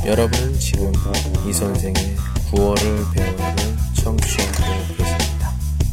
여러분은 지금 이 선생의 구월을 배우는 청취하고 계십니다.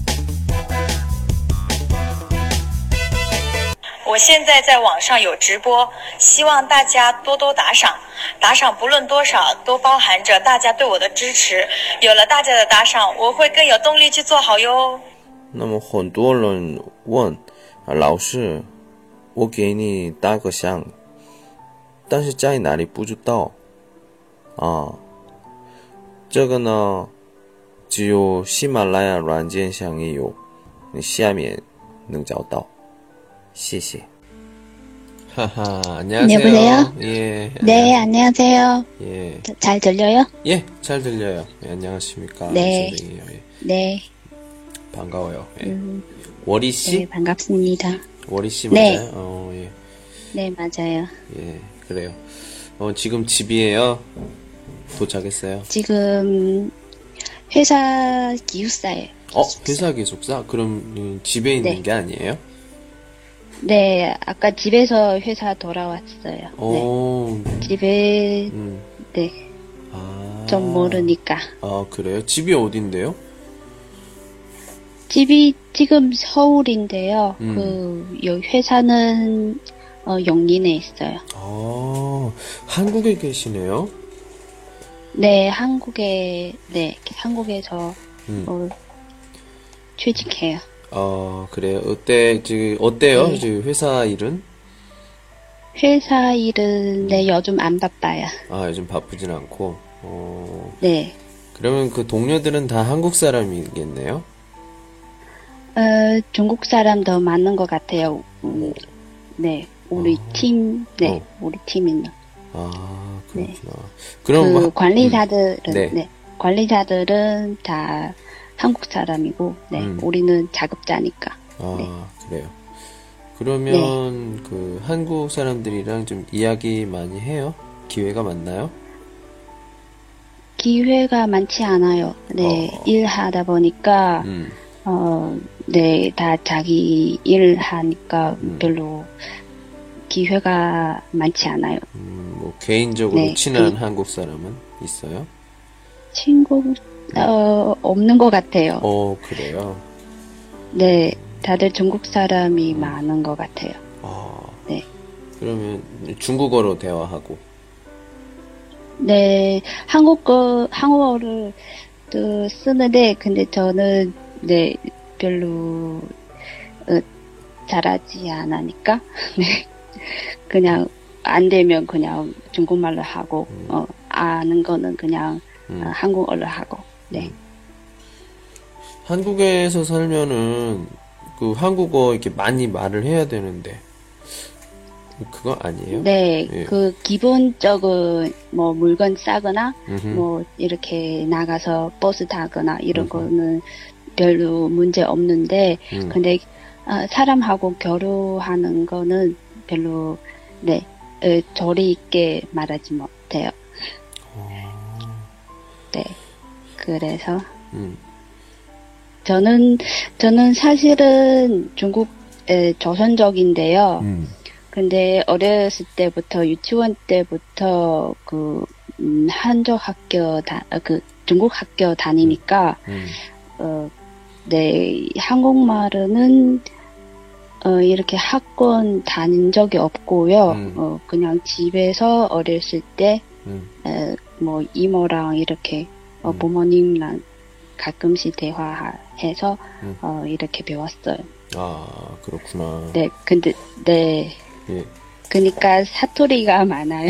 我现在在网上有直播，希望大家多多打赏，打赏不论多少都包含着大家对我的支持，有了大家的打赏，我会更有动力去做好哟。 那么很多人问老师，我给你打个赏，但是在哪里不知道啊？这个呢，只有喜马拉雅软件上也有，你下面能找到。谢谢。 하하, 안녕하세요. 여보세요? 예. 네, 안녕하세요. 예. 잘 들려요? 예, 잘 들려요. 예, 안녕하십니까. 네. 선생님. 예. 네. 반가워요. 예. 워리 씨? 네, 반갑습니다. 워리 씨 네. 맞아요? 예. 네, 맞아요. 예, 그래요. 지금 집이에요? 도착했어요? 지금 회사 기숙사예요. 회사 기숙사? 그럼 집에 있는 네. 게 아니에요? 네, 아까 집에서 회사 돌아왔어요. 오. 네. 집에 네. 좀 모르니까. 아, 그래요? 집이 어딘데요? 집이 지금 서울인데요. 요 회사는 용인에 있어요. 아, 한국에 계시네요? 네, 한국에서 취직해요. 그래요. 어때요? 네. 지금 회사 일은? 회사 일은 네, 요즘 안 바빠요. 아, 요즘 바쁘진 않고. 네. 그러면 그 동료들은 다 한국 사람이겠네요? 중국 사람 더 많은 것 같아요. 네, 우리 팀, 네, 우리 팀은. 아, 그렇구나. 네. 그럼 관리자들은, 네. 네, 관리자들은 다 한국 사람이고, 네, 우리는 작업자니까. 아, 네. 그래요. 그러면 그 한국 사람들이랑 좀 이야기 많이 해요? 기회가 많나요? 기회가 많지 않아요. 네, 일하다 보니까, 네, 다 자기 일을 하니까 별로 기회가 많지 않아요. 뭐 개인적으로 네, 친한 한국 사람은 있어요? 친구, 없는 것 같아요. 그래요? 네, 다들 중국 사람이 많은 것 같아요. 네. 그러면 중국어로 대화하고. 네, 한국어를 또 쓰는데, 근데 저는, 네, 별로, 잘하지 않으니까, 네. 그냥, 안 되면 그냥 중국말로 하고, 아는 거는 그냥 한국어로 하고, 네. 한국에서 살면은, 그 한국어 이렇게 많이 말을 해야 되는데, 그거 아니에요? 네, 예. 그 기본적인 뭐 물건 싸거나 뭐 이렇게 나가서 버스 타거나 이런 거는 별로 문제 없는데 근데 사람하고 교류하는 거는 별로 네 조리 있게 말하지 못해요. 네, 그래서 저는 사실은 중국 조선족인데요. 근데 어렸을 때부터 유치원 때부터 한족 학교 중국 학교 다니니까 네 한국말은 이렇게 학원 다닌 적이 없고요. 그냥 집에서 어렸을 때 뭐 이모랑 이렇게 부모님랑 가끔씩 대화해서 이렇게 배웠어요. 아, 그렇구나. 네, 근데 네. 예. 그러니까 사투리가 많아요.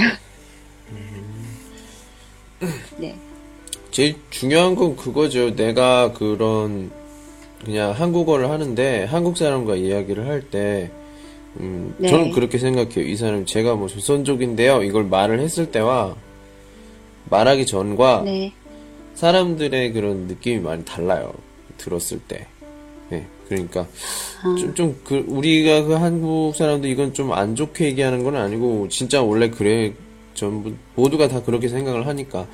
네. 제일 중요한 건 그거죠. 내가 그냥 한국어를 하는데, 한국 사람과 이야기를 할 때, 네. 저는 그렇게 생각해요. 이 사람, 제가 뭐 조선족인데요. 이걸 말을 했을 때와, 말하기 전과, 네. 사람들의 그런 느낌이 많이 달라요. 들었을 때. 네. 그러니까, 우리가 그 한국 사람들 이건 좀 안 좋게 얘기하는 건 아니고, 진짜 원래 그래. 전부, 모두가 다 그렇게 생각을 하니까,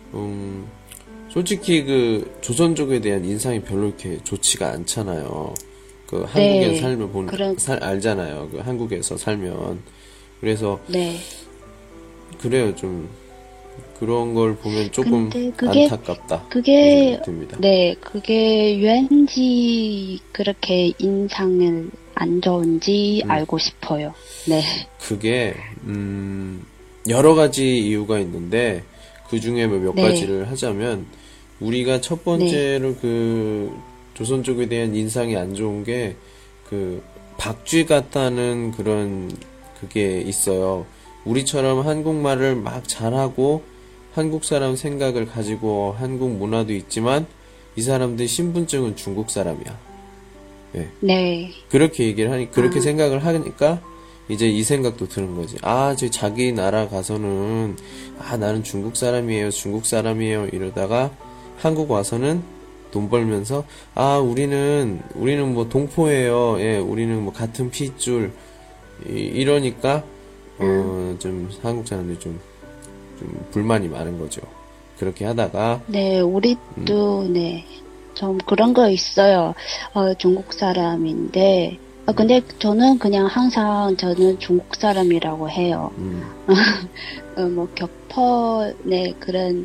솔직히 조선족에 대한 인상이 별로 이렇게 좋지가 않잖아요. 한국에 네. 살면 알잖아요. 한국에서 살면. 그래서, 네. 그래요. 좀, 그런 걸 보면 조금 근데 그게, 안타깝다. 그게, 듭니다. 네, 그게 왠지 그렇게 인상을 안 좋은지 알고 싶어요. 네. 그게 여러 가지 이유가 있는데 그 중에 몇 네. 가지를 하자면 우리가 첫 번째로 그 조선족에 대한 인상이 안 좋은 게 그 박쥐 같다는 그런 그게 있어요. 우리처럼 한국말을 막 잘하고 한국 사람 생각을 가지고 한국 문화도 있지만 이 사람들 신분증은 중국 사람이야. 예. 네. 그렇게 얘기를 하니 그렇게 생각을 하니까 이제 이 생각도 드는 거지. 아, 저 자기 나라 가서는 아, 나는 중국 사람이에요 이러다가 한국 와서는 돈 벌면서 아, 우리는 뭐 동포예요. 예, 우리는 뭐 같은 핏줄 이러니까 좀 한국 사람들이 좀 불만이 많은 거죠. 그렇게 하다가 네, 우리도, 네, 좀 그런 거 있어요. 중국 사람인데, 근데 저는 그냥 항상 저는 중국 사람이라고 해요. 뭐, 격퍼, 네, 그런,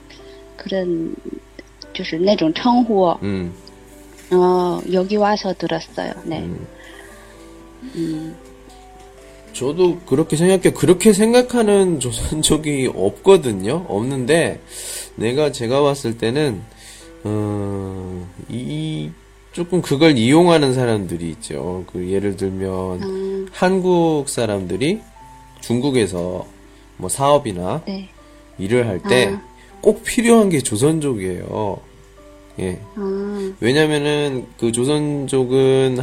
就是那种称呼, 여기 와서 들었어요. 네. 저도 그렇게 생각해요. 그렇게 생각하는 조선족이 없거든요. 없는데, 제가 봤을 때는, 조금 그걸 이용하는 사람들이 있죠. 그, 예를 들면, 한국 사람들이 중국에서 뭐 사업이나 네. 일을 할 때 꼭 필요한 게 조선족이에요. 예. 왜냐면은 그 조선족은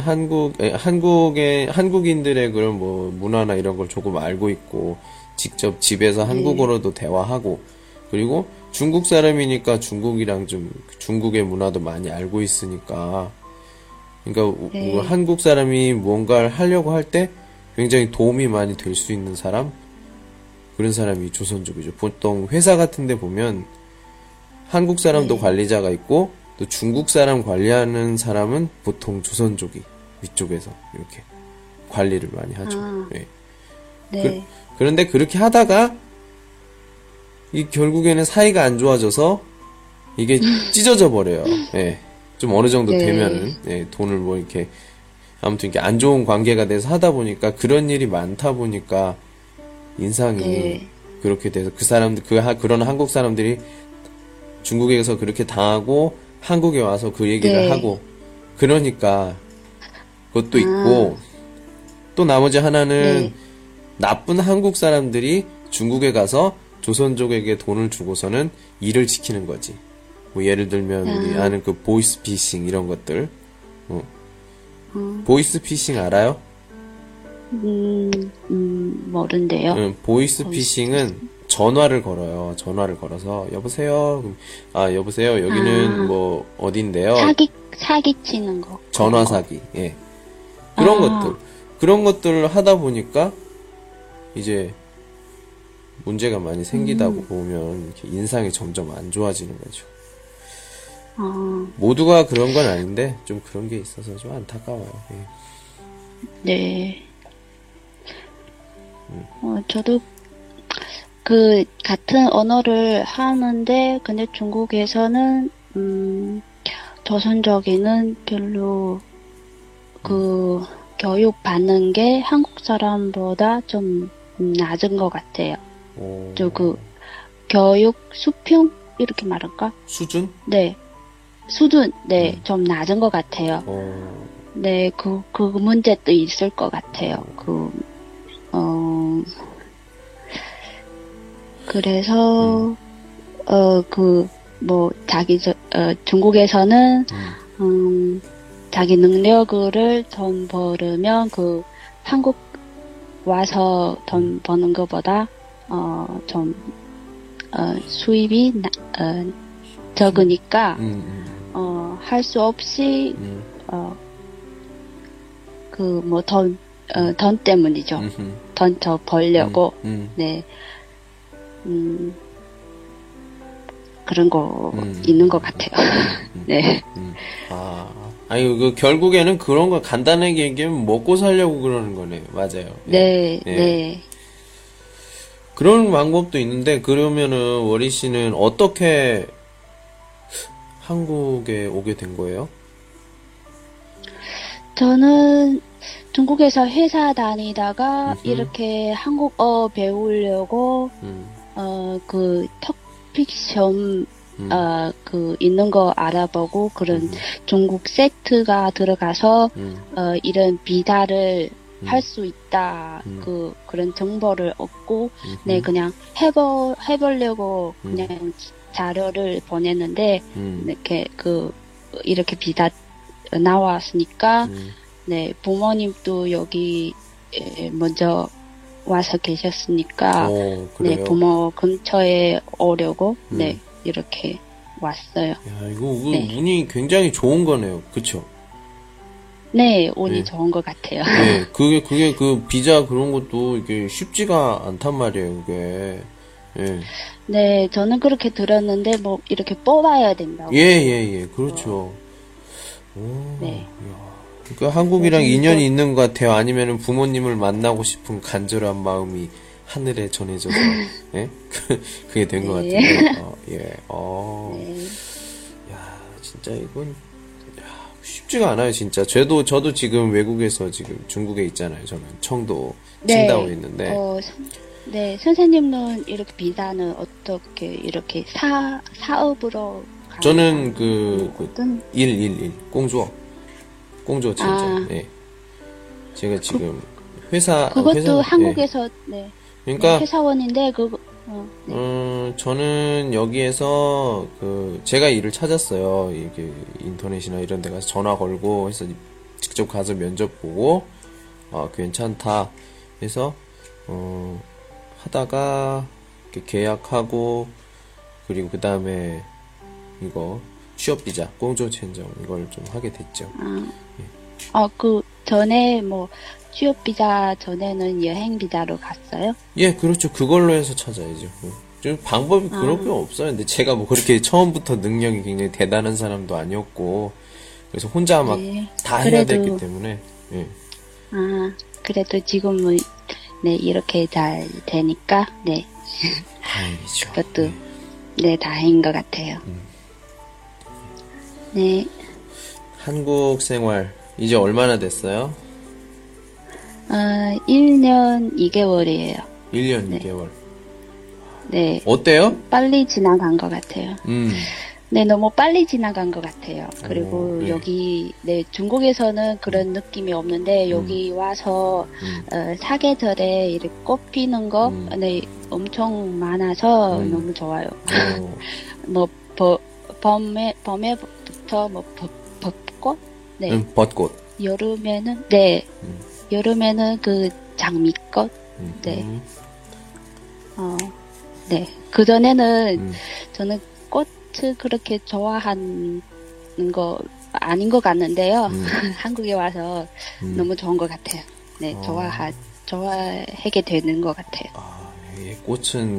한국인들의 그런 뭐 문화나 이런 걸 조금 알고 있고 직접 집에서 한국어로도 대화하고 그리고 중국 사람이니까 중국이랑 좀 중국의 문화도 많이 알고 있으니까 그러니까 한국 사람이 뭔가를 하려고 할 때 굉장히 도움이 많이 될 수 있는 사람 그런 사람이 조선족이죠. 보통 회사 같은 데 보면 한국 사람도 관리자가 있고 또 중국 사람 관리하는 사람은 보통 조선족이 위쪽에서 이렇게 관리를 많이 하죠. 네. 네. 그런데 그렇게 하다가 결국에는 사이가 안 좋아져서 이게 찢어져 버려요. 네. 좀 어느 정도 되면은 돈을 뭐 이렇게 아무튼 이렇게 안 좋은 관계가 돼서 하다 보니까 그런 일이 많다 보니까 인상이 그렇게 돼서 그런 한국 사람들이 중국에서 그렇게 당하고 한국에 와서 그 얘기를 하고 그러니까 그것도 있고 또 나머지 하나는 나쁜 한국 사람들이 중국에 가서 조선족에게 돈을 주고서는 일을 시키는 거지. 뭐 예를 들면 우리 아는 그 보이스피싱 이런 것들. 보이스피싱 알아요? 모른대요. 보이스피싱은 전화를 걸어요. 전화를 걸어서 여보세요. 여보세요. 여기는 뭐 어딘데요? 사기치는 거. 전화 사기. 예. 그런 것들을 하다 보니까 이제 문제가 많이 생기다고 보면 이렇게 인상이 점점 안 좋아지는 거죠. 모두가 그런 건 아닌데 좀 그런 게 있어서 좀 안타까워요. 예. 네. 저도 그 같은 언어를 하는데 근데 중국에서는 조선족에는 별로 그 교육 받는 게 한국 사람보다 좀 낮은 것 같아요. 저 그 교육 수평 이렇게 말할까? 수준? 네. 수준, 네, 좀 낮은 것 같아요. 네, 그 문제도 있을 것 같아요. 그래서, 중국에서는, 자기 능력을 돈 벌으면 한국 와서 돈 버는 것보다, 수입이, 적으니까, 할 수 없이, 돈 때문이죠. 돈 더 벌려고, 네. 그런 거 있는 것 같아요. 네. 결국에는 그런 거 간단하게 얘기하면 먹고 살려고 그러는 거네요. 맞아요. 네, 네. 그런 방법도 있는데, 그러면은, 워리 씨는 어떻게 한국에 오게 된 거예요? 저는 중국에서 회사 다니다가 이렇게 한국어 배우려고 그 토픽 시험 있는 거 알아보고 그런 중국 세트가 들어가서 이런 비자를 할 수 있다 그런 정보를 얻고 네 그냥 해보려고 그냥 자료를 보냈는데 이렇게 비자 나왔으니까 네 부모님도 여기 먼저 와서 계셨으니까 네 부모 근처에 오려고 네 이렇게 왔어요. 야, 이거 운이 굉장히 좋은 거네요. 그쵸? 네, 운이 좋은 것 같아요. 네, 그게 그 비자 그런 것도 이게 쉽지가 않단 말이에요, 그게. 예. 네, 저는 그렇게 들었는데 뭐 이렇게 뽑아야 된다고. 예, 그렇죠. 오, 네. 야. 그 한국이랑 인연이 있는 것 같아요. 아니면은 부모님을 만나고 싶은 간절한 마음이 하늘에 전해져서, 예? 그게 된 것 네. 같은데, 예. 네. 야, 진짜 이건, 쉽지가 않아요, 진짜. 저도 지금 외국에서 지금 중국에 있잖아요. 저는 청도, 칭다오에 있는데. 네, 선생님은 이렇게 비자는 어떻게 이렇게 사업으로 저는 어떤 공주어 친정. 예. 제가 지금 그것도 회사, 한국에서 네. 그러니까 회사원인데 네. 저는 여기에서 제가 일을 찾았어요. 이게 인터넷이나 이런 데 가서 전화 걸고 해서 직접 가서 면접 보고 괜찮다 해서 하다가 이렇게 계약하고 그리고 그 다음에 이거 취업 비자 공조签证 이걸 좀 하게 됐죠. 그 전에 뭐 취업 비자 전에는 여행 비자로 갔어요? 예, 그렇죠. 그걸로 해서 찾아야죠. 좀 방법이 그렇게 없어요. 근데 제가 뭐 그렇게 처음부터 능력이 굉장히 대단한 사람도 아니었고 그래서 혼자 막 다 해야 됐기 때문에. 예. 그래도 지금은 네 이렇게 잘 되니까 네. 다행이죠. 그것도 네 다행인 것 같아요. 네. 한국 생활 이제 얼마나 됐어요? 1년 2개월이에요. 1년 네. 2개월. 네. 어때요? 빨리 지나간 것 같아요. 네, 너무 빨리 지나간 것 같아요. 그리고 네. 여기, 네, 중국에서는 그런 느낌이 없는데, 여기 와서, 사계절에 이렇게 꽃 피는 거, 네, 엄청 많아서 너무 좋아요. 뭐, 봄에부터 뭐, 벚꽃? 네. 벚꽃. 여름에는, 네. 여름에는 그 장미꽃? 네. 네. 그전에는 저는 꽃을 그렇게 좋아하는 거 아닌 것 같는데요. 한국에 와서 너무 좋은 것 같아요. 네. 좋아하게 되는 것 같아요. 예, 꽃은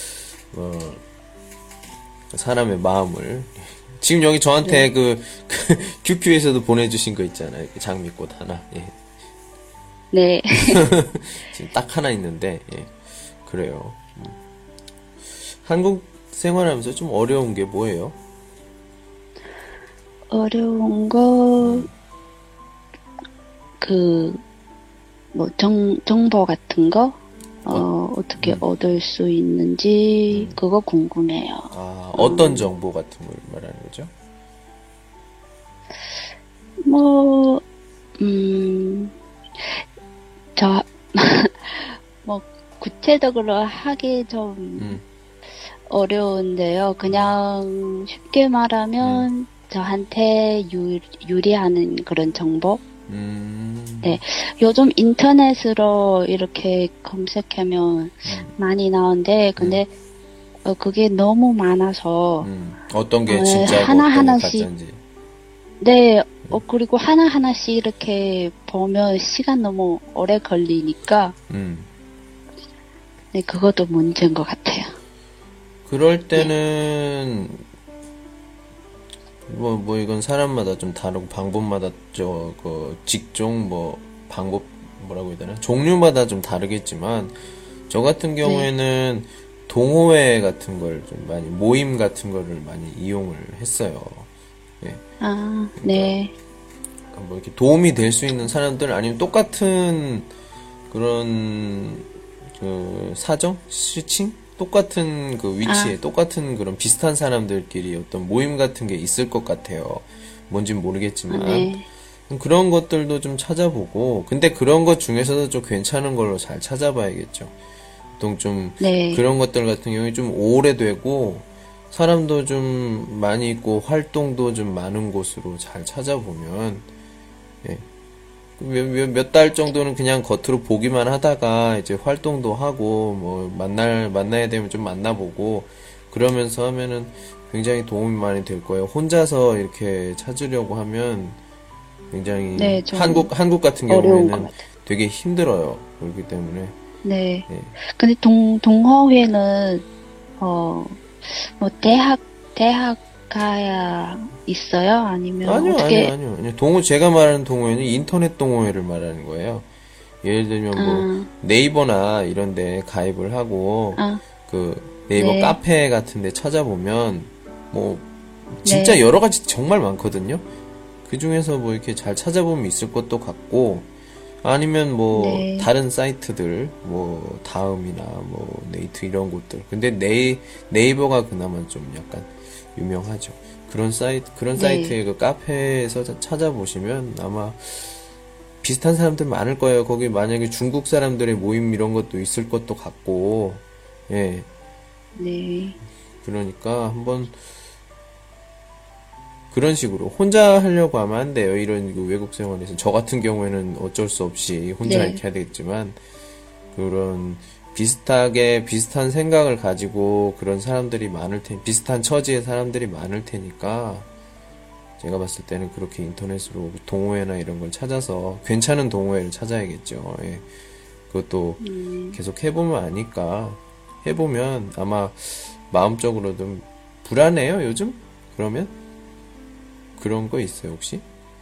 사람의 마음을. 지금 여기 저한테 QQ에서도 보내주신 거 있잖아요. 장미꽃 하나. 예. 네. 지금 딱 하나 있는데, 예. 그래요. 한국 생활하면서 좀 어려운 게 뭐예요? 어려운 거, 정보 같은 거, 어떻게 얻을 수 있는지, 그거 궁금해요. 어떤 정보 같은 걸 말하는 거죠? 구체적으로 하기 좀 어려운데요. 그냥 쉽게 말하면 저한테 유리하는 그런 정보? 네. 요즘 인터넷으로 이렇게 검색하면 많이 나오는데, 근데, 그게 너무 많아서. 어떤 게 진짜고 하나하나씩. 어떤 게 가짜인지. 네. 그리고 하나하나씩 이렇게 보면 시간 너무 오래 걸리니까. 네, 그것도 문제인 것 같아요. 그럴 때는, 이건 사람마다 좀 다르고, 방법마다, 직종, 방법, 뭐라고 해야 되나? 종류마다 좀 다르겠지만, 저 같은 경우에는 동호회 같은 걸 좀 많이, 모임 같은 거를 많이 이용을 했어요. 예. 아, 네. 뭐 이렇게 도움이 될 수 있는 사람들, 아니면 똑같은 그런 그 사정? 스위칭? 똑같은 그 위치에 똑같은 그런 비슷한 사람들끼리 어떤 모임 같은 게 있을 것 같아요. 뭔진 모르겠지만. 네. 그런 것들도 좀 찾아보고, 근데 그런 것 중에서도 좀 괜찮은 걸로 잘 찾아봐야겠죠. 보통 좀 네. 그런 것들 같은 경우에 좀 오래되고 사람도 좀 많이 있고 활동도 좀 많은 곳으로 잘 찾아보면, 예. 몇 달 정도는 그냥 겉으로 보기만 하다가 이제 활동도 하고 뭐 만나야 되면 좀 만나보고 그러면서 하면은 굉장히 도움이 많이 될 거예요. 혼자서 이렇게 찾으려고 하면 굉장히 네, 좀 한국 같은 어려운 것 경우에는 같아요. 되게 힘들어요. 그렇기 때문에 네. 예. 근데 동호회는, 뭐, 대학 가야 있어요? 아니면 어떻게, 아니요. 제가 말하는 동호회는 인터넷 동호회를 말하는 거예요. 예를 들면 뭐 네이버나 이런 데 가입을 하고 그 네이버 네. 카페 같은 데 찾아보면 뭐 진짜 네. 여러 가지 정말 많거든요. 그 중에서 뭐 이렇게 잘 찾아보면 있을 것도 같고, 아니면 뭐 네. 다른 사이트들 뭐 다음이나 뭐 네이트 이런 곳들. 근데 네이버가 그나마 좀 약간 유명하죠. 그런 사이트의 그 카페에서 찾아보시면 아마 비슷한 사람들 많을 거예요. 거기 만약에 중국 사람들의 모임 이런 것도 있을 것도 같고, 예. 네. 그러니까 한번 그런 식으로 혼자 하려고 하면 안 돼요. 이런 그 외국 생활에서 저 같은 경우에는 어쩔 수 없이 혼자 네. 이렇게 해야 되겠지만, 그런 비슷한 생각을 가지고 그런 사람들이 비슷한 처지의 사람들이 많을 테니까, 제가 봤을 때는 그렇게 인터넷으로 동호회나 이런 걸 찾아서 괜찮은 동호회를 찾아야겠죠. 예. 그것도 계속 해보면 아니까, 해보면 아마 마음적으로 좀 불안해요, 요즘? 그러면? 그런 거 있어요, 혹시?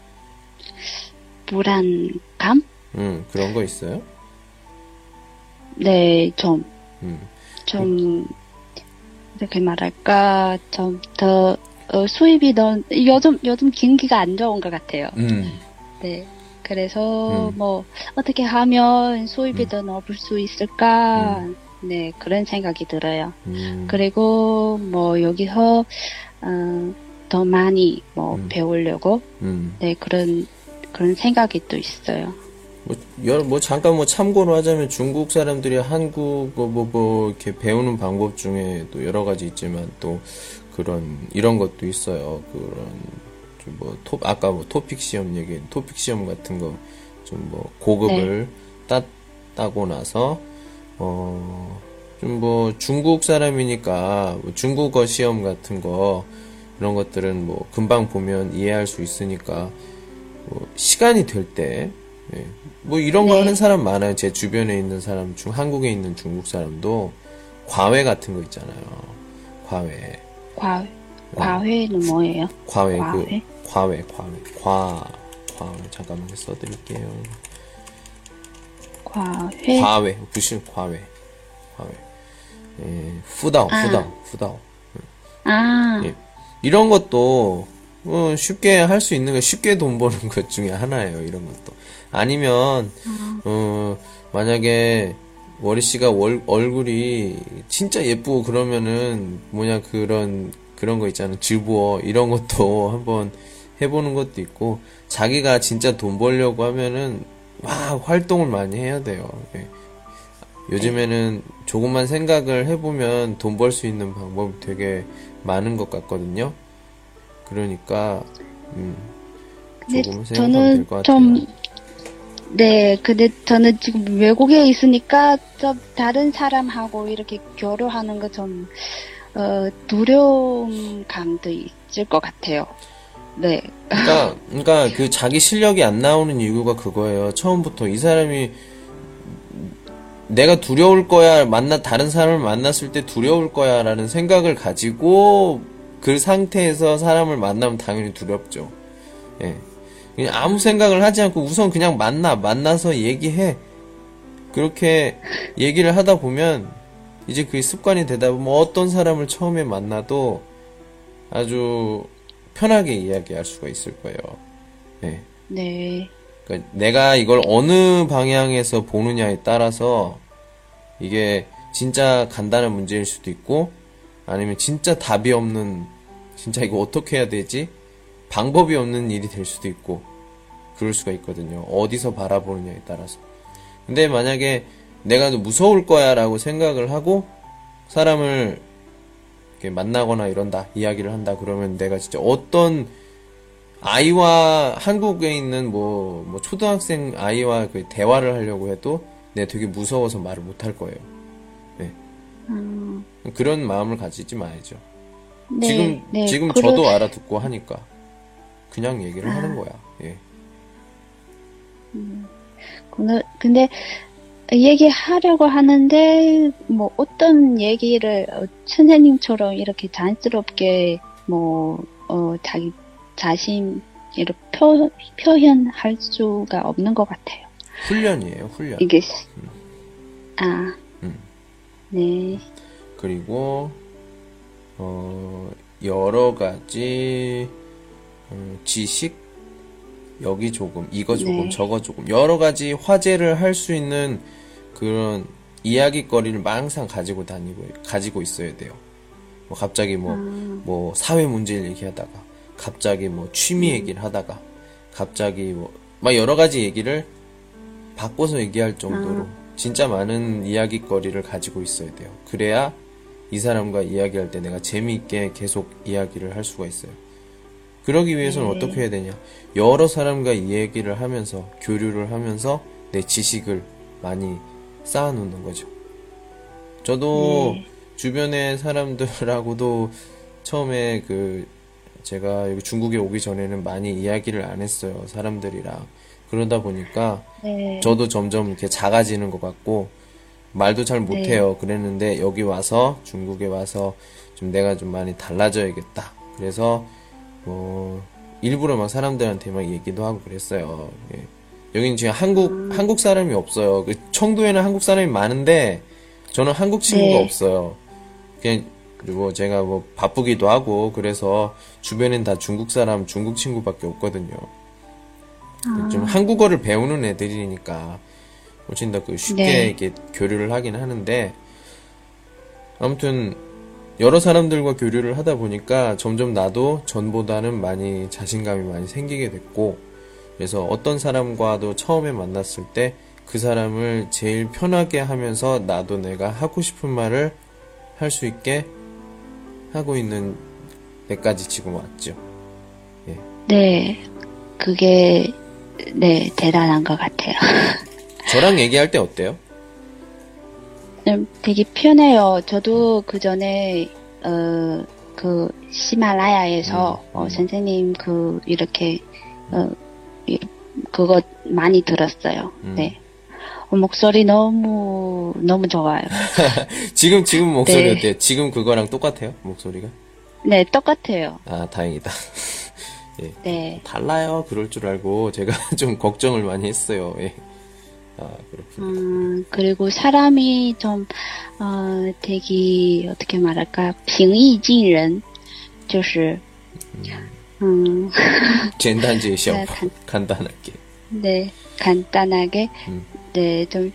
불안감? 그런 거 있어요? 네, 음, 이렇게 말할까, 수입이 요즘 경기가 안 좋은 것 같아요. 네. 그래서, 어떻게 하면 수입이 더 높을 수 있을까, 네, 그런 생각이 들어요. 그리고, 여기서, 더 많이, 배우려고, 네, 그런 생각이 또 있어요. 잠깐 참고로 하자면 중국 사람들이 한국, 이렇게 배우는 방법 중에 또 여러 가지 있지만 또 이런 것도 있어요. 아까 토픽 시험 토픽 시험 같은 거, 좀 고급을 따고 나서, 중국 사람이니까 중국어 시험 같은 거, 이런 것들은 금방 보면 이해할 수 있으니까, 시간이 될 때, 예. 이런 거 하는 사람 많아요. 제 주변에 있는 사람 한국에 있는 중국 사람도 과외 같은 거 있잖아요. 과외. 과외는 뭐예요? 과외. 잠깐만 써드릴게요. 과외. 무슨 과외. 예, 후다오. 예. 이런 것도 쉽게 할 수 있는 거, 쉽게 돈 버는 것 중에 하나예요. 이런 것도. 아니면 만약에 워리 씨가 얼굴이 진짜 예쁘고 그러면은 그런 거 있잖아요. 즈보어 이런 것도 한번 해보는 것도 있고, 자기가 진짜 돈 벌려고 하면은 활동을 많이 해야 돼요. 예. 요즘에는 조금만 생각을 해보면 돈 벌 수 있는 방법이 되게 많은 것 같거든요. 그러니까 조금 생각하면 될 것 같아요. 네, 근데 저는 지금 외국에 있으니까 좀 다른 사람하고 이렇게 교류하는 거 좀 두려운 감도 있을 것 같아요. 네. 그러니까 그 자기 실력이 안 나오는 이유가 그거예요. 처음부터 이 사람이 내가 두려울 거야, 다른 사람을 만났을 때 두려울 거야라는 생각을 가지고 그 상태에서 사람을 만나면 당연히 두렵죠. 예. 그냥 아무 생각을 하지 않고 우선 그냥 만나서 얘기해. 그렇게 얘기를 하다 보면 이제 그게 습관이 되다 보면 어떤 사람을 처음에 만나도 아주 편하게 이야기할 수가 있을 거예요. 네. 네. 그러니까 내가 이걸 어느 방향에서 보느냐에 따라서 이게 진짜 간단한 문제일 수도 있고 아니면 진짜 답이 없는 진짜 이거 어떻게 해야 되지? 방법이 없는 일이 될 수도 있고 그럴 수가 있거든요. 어디서 바라보느냐에 따라서. 근데 만약에 내가 무서울 거야 라고 생각을 하고 사람을 이렇게 만나거나 이런다, 이야기를 한다 그러면 내가 진짜 어떤 아이와 한국에 있는 뭐 초등학생 아이와 그 대화를 하려고 해도 내가 되게 무서워서 말을 못 할 거예요. 네. 그런 마음을 가지지 마야죠. 네, 지금 저도 알아듣고 하니까 그냥 얘기를 하는 거야. 예. 근데 얘기하려고 하는데 뭐 어떤 얘기를 선생님처럼 이렇게 자연스럽게 자기 자신 이렇게 표현할 수가 없는 것 같아요. 훈련이에요, 훈련. 이게 네. 그리고 여러 가지 지식 여기 조금 이거 조금 네. 저거 조금 여러 가지 화제를 할 수 있는 그런 이야기거리를 항상 가지고 있어야 돼요. 뭐 갑자기 뭐 사회 문제를 얘기하다가 갑자기 뭐 취미 얘기를 하다가 갑자기 막 여러 가지 얘기를 바꿔서 얘기할 정도로 진짜 많은 이야기거리를 가지고 있어야 돼요. 그래야 이 사람과 이야기할 때 내가 재미있게 계속 이야기를 할 수가 있어요. 그러기 위해서는 어떻게 해야 되냐? 여러 사람과 이야기를 하면서 교류를 하면서 내 지식을 많이 쌓아놓는 거죠. 저도 주변의 사람들하고도 처음에 제가 여기 중국에 오기 전에는 많이 이야기를 안 했어요. 사람들이랑. 그러다 보니까 저도 점점 이렇게 작아지는 것 같고 말도 잘 못해요. 그랬는데 여기 와서 중국에 와서 좀 내가 좀 많이 달라져야겠다. 그래서 일부러 막 사람들한테 막 얘기도 하고 그랬어요. 예. 여긴 지금 한국 사람이 없어요. 청도에는 한국 사람이 많은데 저는 한국 친구가 없어요. 그리고 제가 바쁘기도 하고 그래서 주변엔 다 중국 친구밖에 없거든요. 좀 한국어를 배우는 애들이니까 훨씬 더 쉽게 이렇게 교류를 하긴 하는데 아무튼 여러 사람들과 교류를 하다 보니까 점점 나도 전보다는 많이 자신감이 많이 생기게 됐고 그래서 어떤 사람과도 처음에 만났을 때 그 사람을 제일 편하게 하면서 나도 내가 하고 싶은 말을 할 수 있게 하고 있는 데까지 지금 왔죠. 예. 네, 그게 대단한 것 같아요. 저랑 얘기할 때 어때요? 되게 편해요. 저도 그 전에 히말라야에서 선생님 이렇게 그거 많이 들었어요. 네. 목소리 너무 좋아요. 지금 목소리 어때요? 지금 그거랑 똑같아요? 목소리가? 네, 똑같아요. 아, 다행이다. 예. 네. 달라요. 그럴 줄 알고 제가 좀 걱정을 많이 했어요. 예. 아, 그렇군요. 그리고 사람이 좀 되게 어떻게 말할까? 平易近人就是简单介绍 간단하게. 네, 간단하게. 네, 좀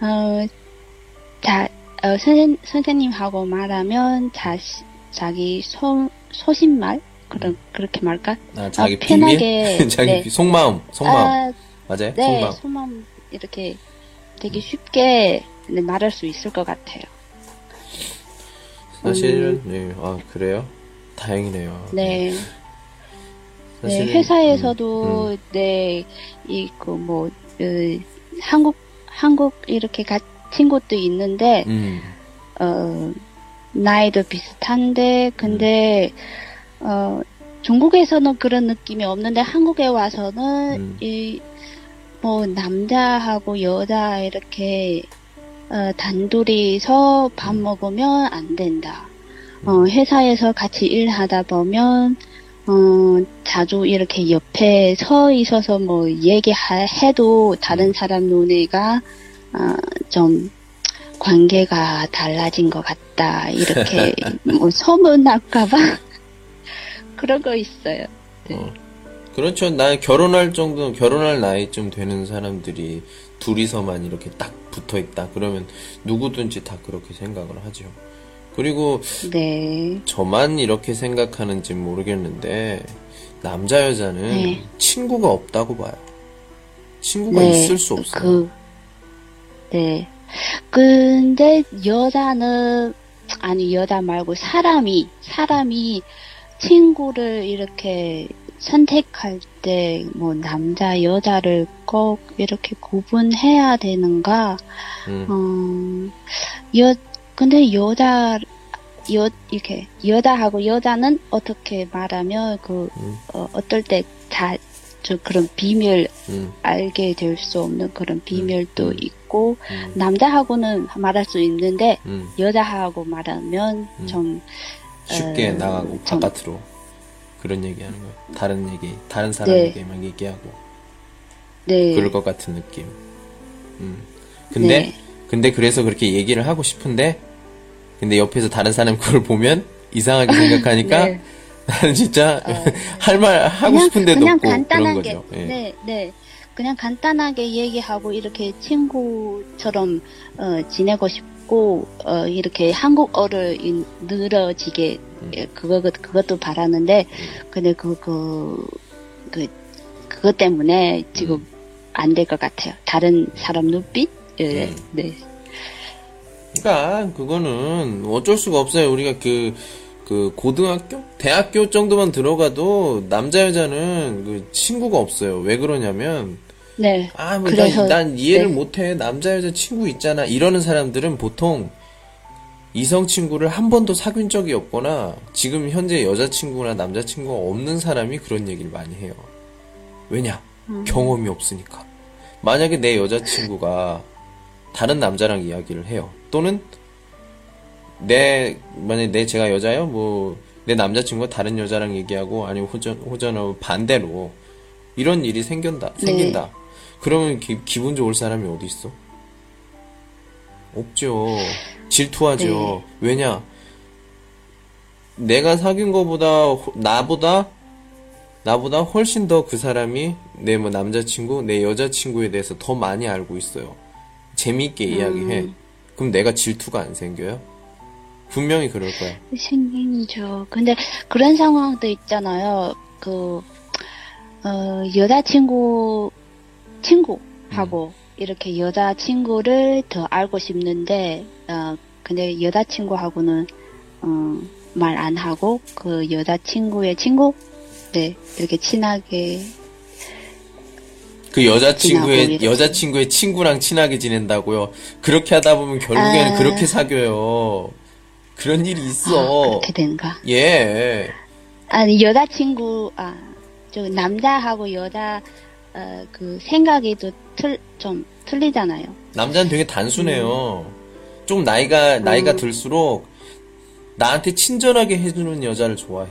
선생님하고 말하면 자기 소신말 그렇게 말까? 자기 편하게 비밀? 자기 속마음. 맞아요? 네, 속마음 이렇게 되게 쉽게 말할 수 있을 것 같아요. 사실은 그래요? 다행이네요. 네. 사실은, 네, 회사에서도 한국 이렇게 친구도 있는데 나이도 비슷한데 근데 중국에서는 그런 느낌이 없는데 한국에 와서는 남자하고 여자 이렇게 단둘이서 밥 먹으면 안 된다. 회사에서 같이 일하다 보면 자주 이렇게 옆에 서 있어서 얘기해도 다른 사람 눈에가 좀 관계가 달라진 것 같다 이렇게 뭐 소문날까봐 그런 거 있어요. 네. 그렇죠. 결혼할 나이쯤 되는 사람들이 둘이서만 이렇게 딱 붙어 있다. 그러면 누구든지 다 그렇게 생각을 하죠. 그리고 네. 저만 이렇게 생각하는지 모르겠는데 남자 여자는 네. 친구가 없다고 봐요. 친구가 네. 있을 수 없어요. 네. 근데 여자는 아니 여자 말고 사람이 친구를 이렇게 선택할 때 뭐 남자 여자를 꼭 이렇게 구분해야 되는가? 근데 이렇게 여자하고 여자는 어떻게 말하면 어떨 때 그런 비밀 알게 될 수 없는 그런 비밀도 있고 남자하고는 말할 수 있는데 여자하고 말하면 좀 쉽게 나가고 바깥으로 그런 얘기하는 거예요. 다른 사람 네. 얘기만 얘기하고 네. 그럴 것 같은 느낌. 근데 그래서 그렇게 얘기를 하고 싶은데 근데 옆에서 다른 사람 그걸 보면 이상하게 생각하니까 네. 나는 진짜 할 말 하고 싶은데도 그냥 없고 간단하게, 그런 거죠. 예. 네. 그냥 간단하게 얘기하고 이렇게 친구처럼 지내고 싶고 이렇게 한국어를 늘어지게 그것도 바라는데 근데 그것 때문에 지금 안 될 것 같아요. 다른 사람 눈빛? 네. 그러니까 그거는 어쩔 수가 없어요. 우리가 그 고등학교, 대학교 정도만 들어가도 남자 여자는 그 친구가 없어요. 왜 그러냐면 네. 뭐 난 이해를 못해. 남자 여자 친구 있잖아. 이러는 사람들은 보통 이성 친구를 한 번도 사귄 적이 없거나 지금 현재 여자친구나 남자친구가 없는 사람이 그런 얘기를 많이 해요. 왜냐? 경험이 없으니까. 만약에 내 여자친구가 다른 남자랑 이야기를 해요. 또는 만약에 제가 여자요? 내 남자친구가 다른 여자랑 얘기하고 아니면 호전하고 반대로 이런 일이 생긴다. 그러면 기분 좋을 사람이 어디 있어? 없죠. 질투하죠. 왜냐? 내가 사귄 거보다 나보다 훨씬 더 그 사람이 내 남자친구, 내 여자친구에 대해서 더 많이 알고 있어요. 재미있게 이야기해. 그럼 내가 질투가 안 생겨요? 분명히 그럴 거야. 생기죠. 근데 그런 상황도 있잖아요. 친구하고 이렇게 여자친구를 더 알고 싶는데, 근데 여자친구하고는, 말 안 하고, 그 여자친구의 친구? 네, 이렇게 친하게. 그 여자친구의 친구랑 친하게 지낸다고요? 그렇게 하다 보면 결국에는 그렇게 사귀어요. 그런 일이 있어. 그렇게 되는가? 예. 아니, 남자하고 여자, 그 생각이 좀 틀리잖아요. 남자는 되게 단순해요. 좀 나이가 들수록 나한테 친절하게 해주는 여자를 좋아해.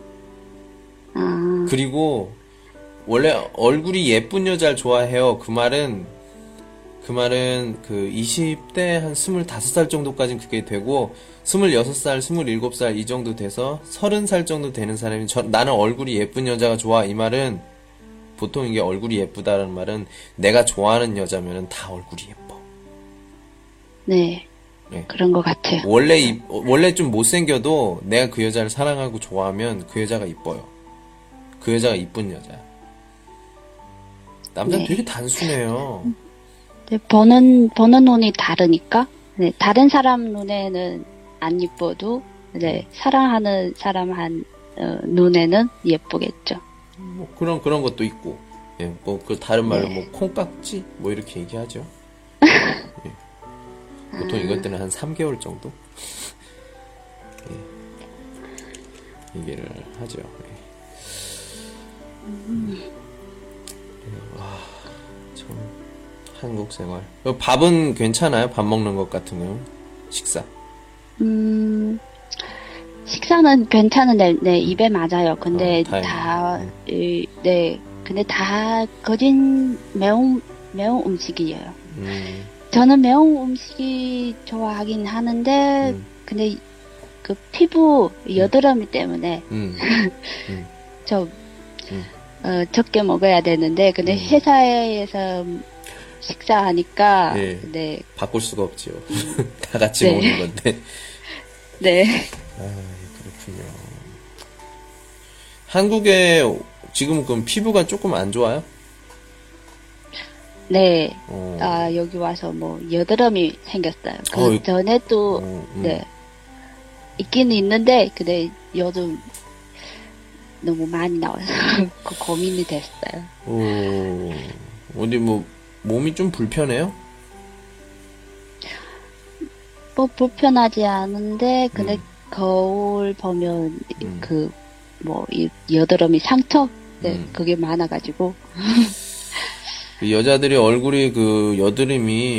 그리고 원래 얼굴이 예쁜 여자를 좋아해요. 그 말은 그 20대 한 25살 정도까지는 그게 되고 26살, 27살 이 정도 돼서 30살 정도 되는 사람이 나는 얼굴이 예쁜 여자가 좋아. 이 말은 보통 이게 얼굴이 예쁘다는 말은 내가 좋아하는 여자면은 다 얼굴이 예뻐. 네. 그런 것 같아요. 원래 좀 못생겨도 내가 그 여자를 사랑하고 좋아하면 그 여자가 이뻐요. 그 여자가 이쁜 여자야. 남자는 되게 단순해요. 네, 보는 눈이 다르니까, 네, 다른 사람 눈에는 안 예뻐도, 네, 사랑하는 사람 눈에는 예쁘겠죠. 그런 것도 있고, 예, 그 다른 말로 콩깍지? 이렇게 얘기하죠. 예. 보통 이것들은 한 3개월 정도? 예. 얘기를 하죠. 예. 참, 한국 생활. 밥은 괜찮아요? 밥 먹는 것 같은 거? 식사? 식사는 괜찮은데, 네, 입에 맞아요. 근데 근데 다 거진 매운 음식이에요. 저는 매운 음식이 좋아하긴 하는데, 근데 그 피부 여드름이 때문에 음. 좀 적게 먹어야 되는데, 근데 회사에서 식사하니까, 예. 네, 바꿀 수가 없지요. 다 같이 네. 먹는 건데. 네, 아, 그렇군요. 한국에 지금 그럼 피부가 조금 안 좋아요? 네. 어. 아, 여기 와서 뭐 여드름이 생겼어요. 그 어, 전에도 네 있기는 있는데 근데 요즘 너무 많이 나와서 그 고민이 됐어요. 어디 뭐 몸이 좀 불편해요? 뭐 불편하지 않은데 근데 거울 보면 그 뭐 여드름이 상처 네 그게 많아가지고 그 여자들이 얼굴이 그 여드름이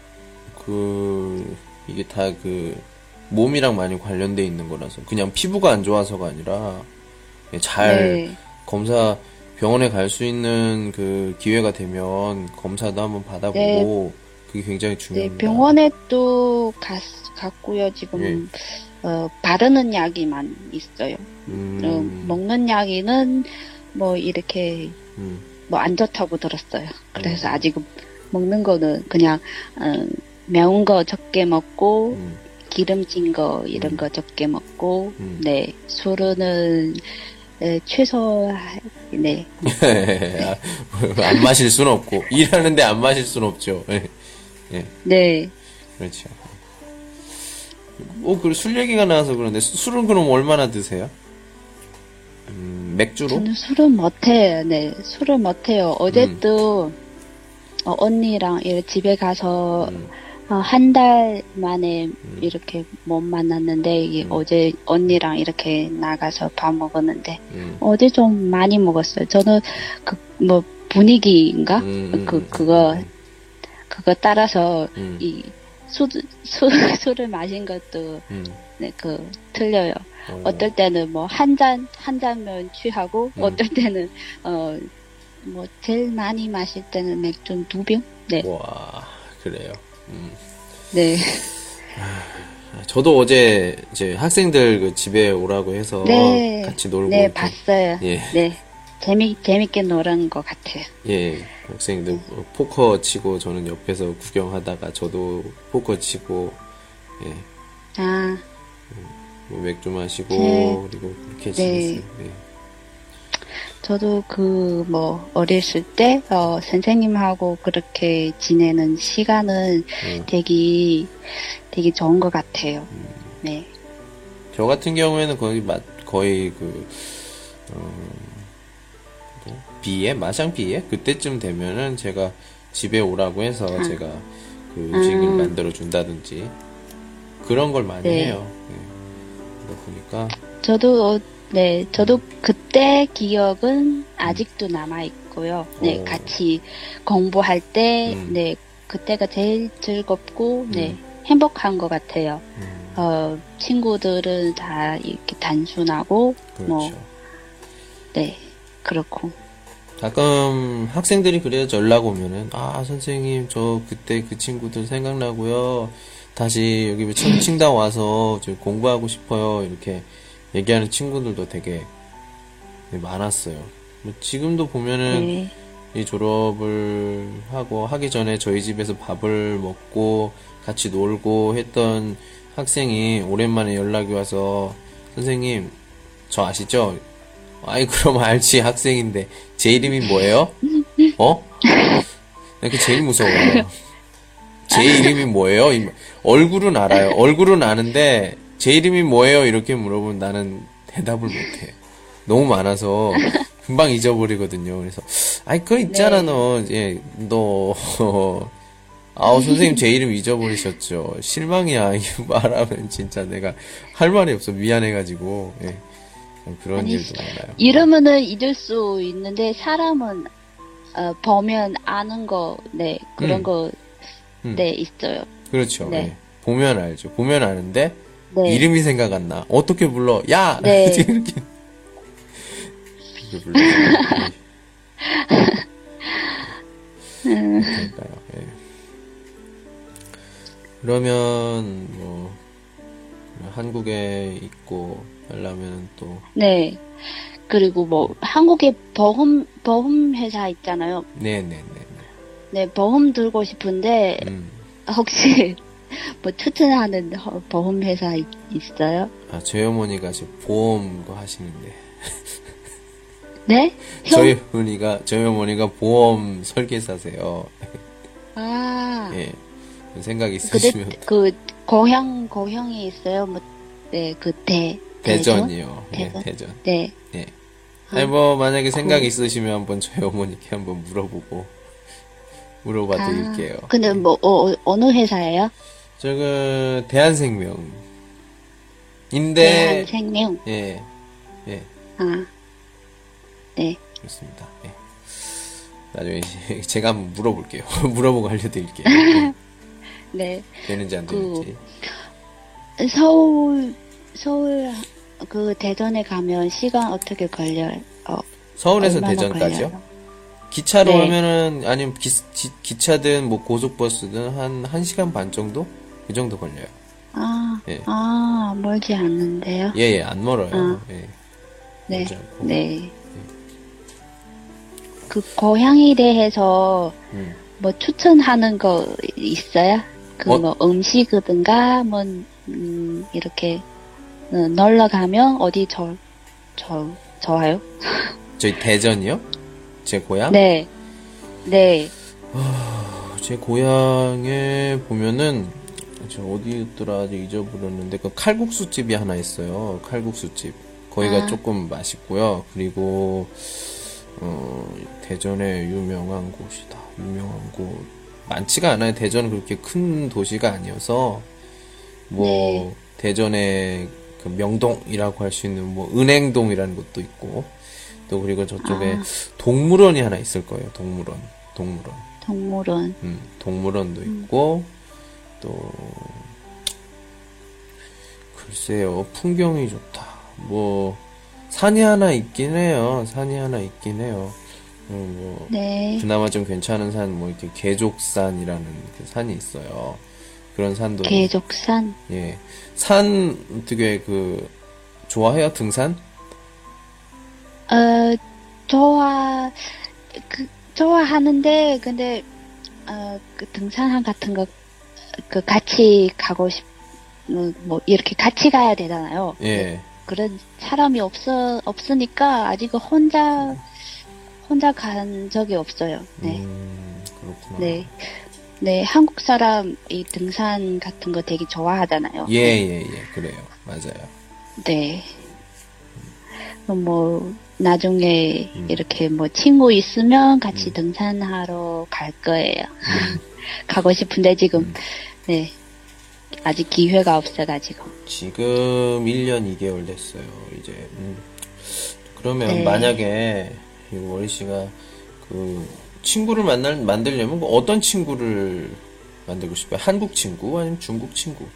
이게 다 그 몸이랑 많이 관련돼 있는 거라서 그냥 피부가 안 좋아서가 아니라 잘 네. 검사 병원에 갈 수 있는 그 기회가 되면 검사도 한번 받아보고 그게 굉장히 네, 중요합니다. 병원에 또 갔고요. 지금 예. 바르는 약이만 있어요. 먹는 약이는 뭐 이렇게 뭐 안 좋다고 들었어요. 그래서 아직 먹는 거는 그냥 매운 거 적게 먹고 기름진 거 이런 거 적게 먹고 네 술은 최소 네. 안 마실 수는 없고 일하는데 안 마실 수는 없죠. 예. 네. 그렇죠. 그 술 얘기가 나와서 그런데 술은 그럼 얼마나 드세요? 맥주로? 저는 술은 못해요. 네, 술을 못해요. 어제도 언니랑 이렇게 집에 가서 한 달 만에 이렇게 못 만났는데 이게 어제 언니랑 이렇게 나가서 밥 먹었는데 어제 좀 많이 먹었어요. 저는 그 뭐 분위기인가 그거 따라서 이 술을 마신 것도 네, 틀려요. 어떨 때는 뭐 한 잔면 취하고 어떨 때는 뭐 제일 많이 마실 때는 맥주 2병. 네. 와, 그래요. 네. 저도 어제 이제 학생들 그 집에 오라고 해서 네. 같이 놀고 네, 이렇게. 봤어요. 예. 네. 재밌게 놀은 것 같아요. 예, 학생들 포커 치고 저는 옆에서 구경하다가 저도 포커 치고 예. 아, 뭐 맥주 마시고 네. 그리고 그렇게 네. 지냈어요. 네. 저도 어렸을 때, 선생님하고 그렇게 지내는 시간은 되게 좋은 것 같아요. 네. 저 같은 경우에는 거의 비에 마샹 비에 그때쯤 되면은 제가 집에 오라고 해서 제가 그 음식을 만들어 준다든지 그런 걸 많이 네. 해요. 네. 그러다 보니까 저도 그때 기억은 아직도 남아 있고요. 네, 오. 같이 공부할 때, 네, 그때가 제일 즐겁고, 네, 행복한 것 같아요. 친구들은 다 이렇게 단순하고, 그렇죠. 네, 그렇고. 가끔 학생들이 그래요. 연락 오면은 선생님 저 그때 그 친구들 생각나고요. 다시 여기 청칭당 와서 저 공부하고 싶어요. 이렇게 얘기하는 친구들도 되게 많았어요. 뭐 지금도 보면은 네, 이 졸업을 하기 전에 저희 집에서 밥을 먹고 같이 놀고 했던 학생이 오랜만에 연락이 와서 선생님 저 아시죠? 아이 그럼 알지 학생인데 제 이름이 뭐예요? 그게 제일 무서워요. 제 이름이 뭐예요? 얼굴은 알아요. 얼굴은 아는데 제 이름이 뭐예요? 이렇게 물어보면 나는 대답을 못해. 너무 많아서 금방 잊어버리거든요. 그래서 그거 있잖아. 네. 너 선생님 제 이름 잊어버리셨죠. 실망이야. 이거 말하면 진짜 내가 할 말이 없어. 미안해가지고. 예. 그런 일도 많아요. 이름은 잊을 수 있는데, 사람은, 보면 아는 거, 네, 그런 거, 네, 있어요. 그렇죠. 네. 예. 보면 알죠. 보면 아는데, 네. 이름이 생각 안 나. 어떻게 불러? 야! 네. 이렇게 불러요. 그러니까요. 예. 그러면 뭐 한국에 있고 하려면 또 네. 그리고 뭐 한국에 보험 회사 있잖아요. 네네네. 네, 보험 들고 싶은데 혹시 뭐 추천하는 보험 회사 있어요? 아, 저희 어머니가 지금 보험 거 하시는데. 네? 저희 어머니가 보험 설계사세요. 아. 예. 생각 있으시면. 고향에 있어요? 뭐, 네, 대전이요. 대전? 예, 대전. 네. 예. 아니, 뭐, 만약에 생각 있으시면 한번 저희 어머니께 한번 물어봐 드릴게요. 근데 뭐, 어느 회사예요? 대한생명인데. 대한생명? 예. 예. 아. 네. 그렇습니다. 예. 나중에 제가 한번 물어볼게요. 물어보고 알려드릴게요. 예. 네. 되는지 안 되는지. 서울, 대전에 가면 시간 어떻게 걸려요? 서울에서 얼마나 대전까지요? 걸려요? 기차로 네. 하면은, 아니면 기차든 뭐 고속버스든 1시간 반 정도? 그 정도 걸려요. 예. 멀지 않는데요? 예, 안 멀어요. 예. 네. 멀지 않고. 네. 그 고향에 대해서 뭐 추천하는 거 있어요? 뭐 음식이든가 뭐 이렇게 놀러 가면 어디 좋아요? 저희 대전이요? 제 고향? 네. 네. 제 고향에 보면은 저 어디였더라 아직 잊어버렸는데 그 칼국수 집이 하나 있어요. 칼국수 집. 거기가 조금 맛있고요. 그리고 대전에 유명한 곳이다. 유명한 곳 많지가 않아요. 대전은 그렇게 큰 도시가 아니어서 뭐 네. 대전에 그 명동이라고 할 수 있는 뭐 은행동이라는 곳도 있고 또 그리고 저쪽에 동물원이 하나 있을 거예요. 동물원. 동물원도 있고 또 글쎄요. 풍경이 좋다. 뭐 산이 하나 있긴 해요. 뭐 네. 그나마 좀 괜찮은 산, 뭐 이렇게 계족산이라는 그 산이 있어요. 그런 산도. 계족산? 예. 산 되게 좋아해요? 등산? 좋아하는데, 근데, 그 등산 같은 거, 같이 가고 뭐, 이렇게 같이 가야 되잖아요. 예. 그런 사람이 없으니까, 아직 혼자 간 적이 없어요. 네. 그렇구나. 네. 네, 한국 사람 이 등산 같은 거 되게 좋아하잖아요. 예. 그래요. 맞아요. 네. 뭐, 나중에 이렇게 뭐 친구 있으면 같이 등산하러 갈 거예요. 가고 싶은데 지금, 네. 아직 기회가 없어가지고. 지금 1년 2개월 됐어요, 이제. 그러면 네. 만약에 월희 씨가 친구를 만들려면 어떤 친구를 만들고 싶어요? 한국 친구 아니면 중국 친구?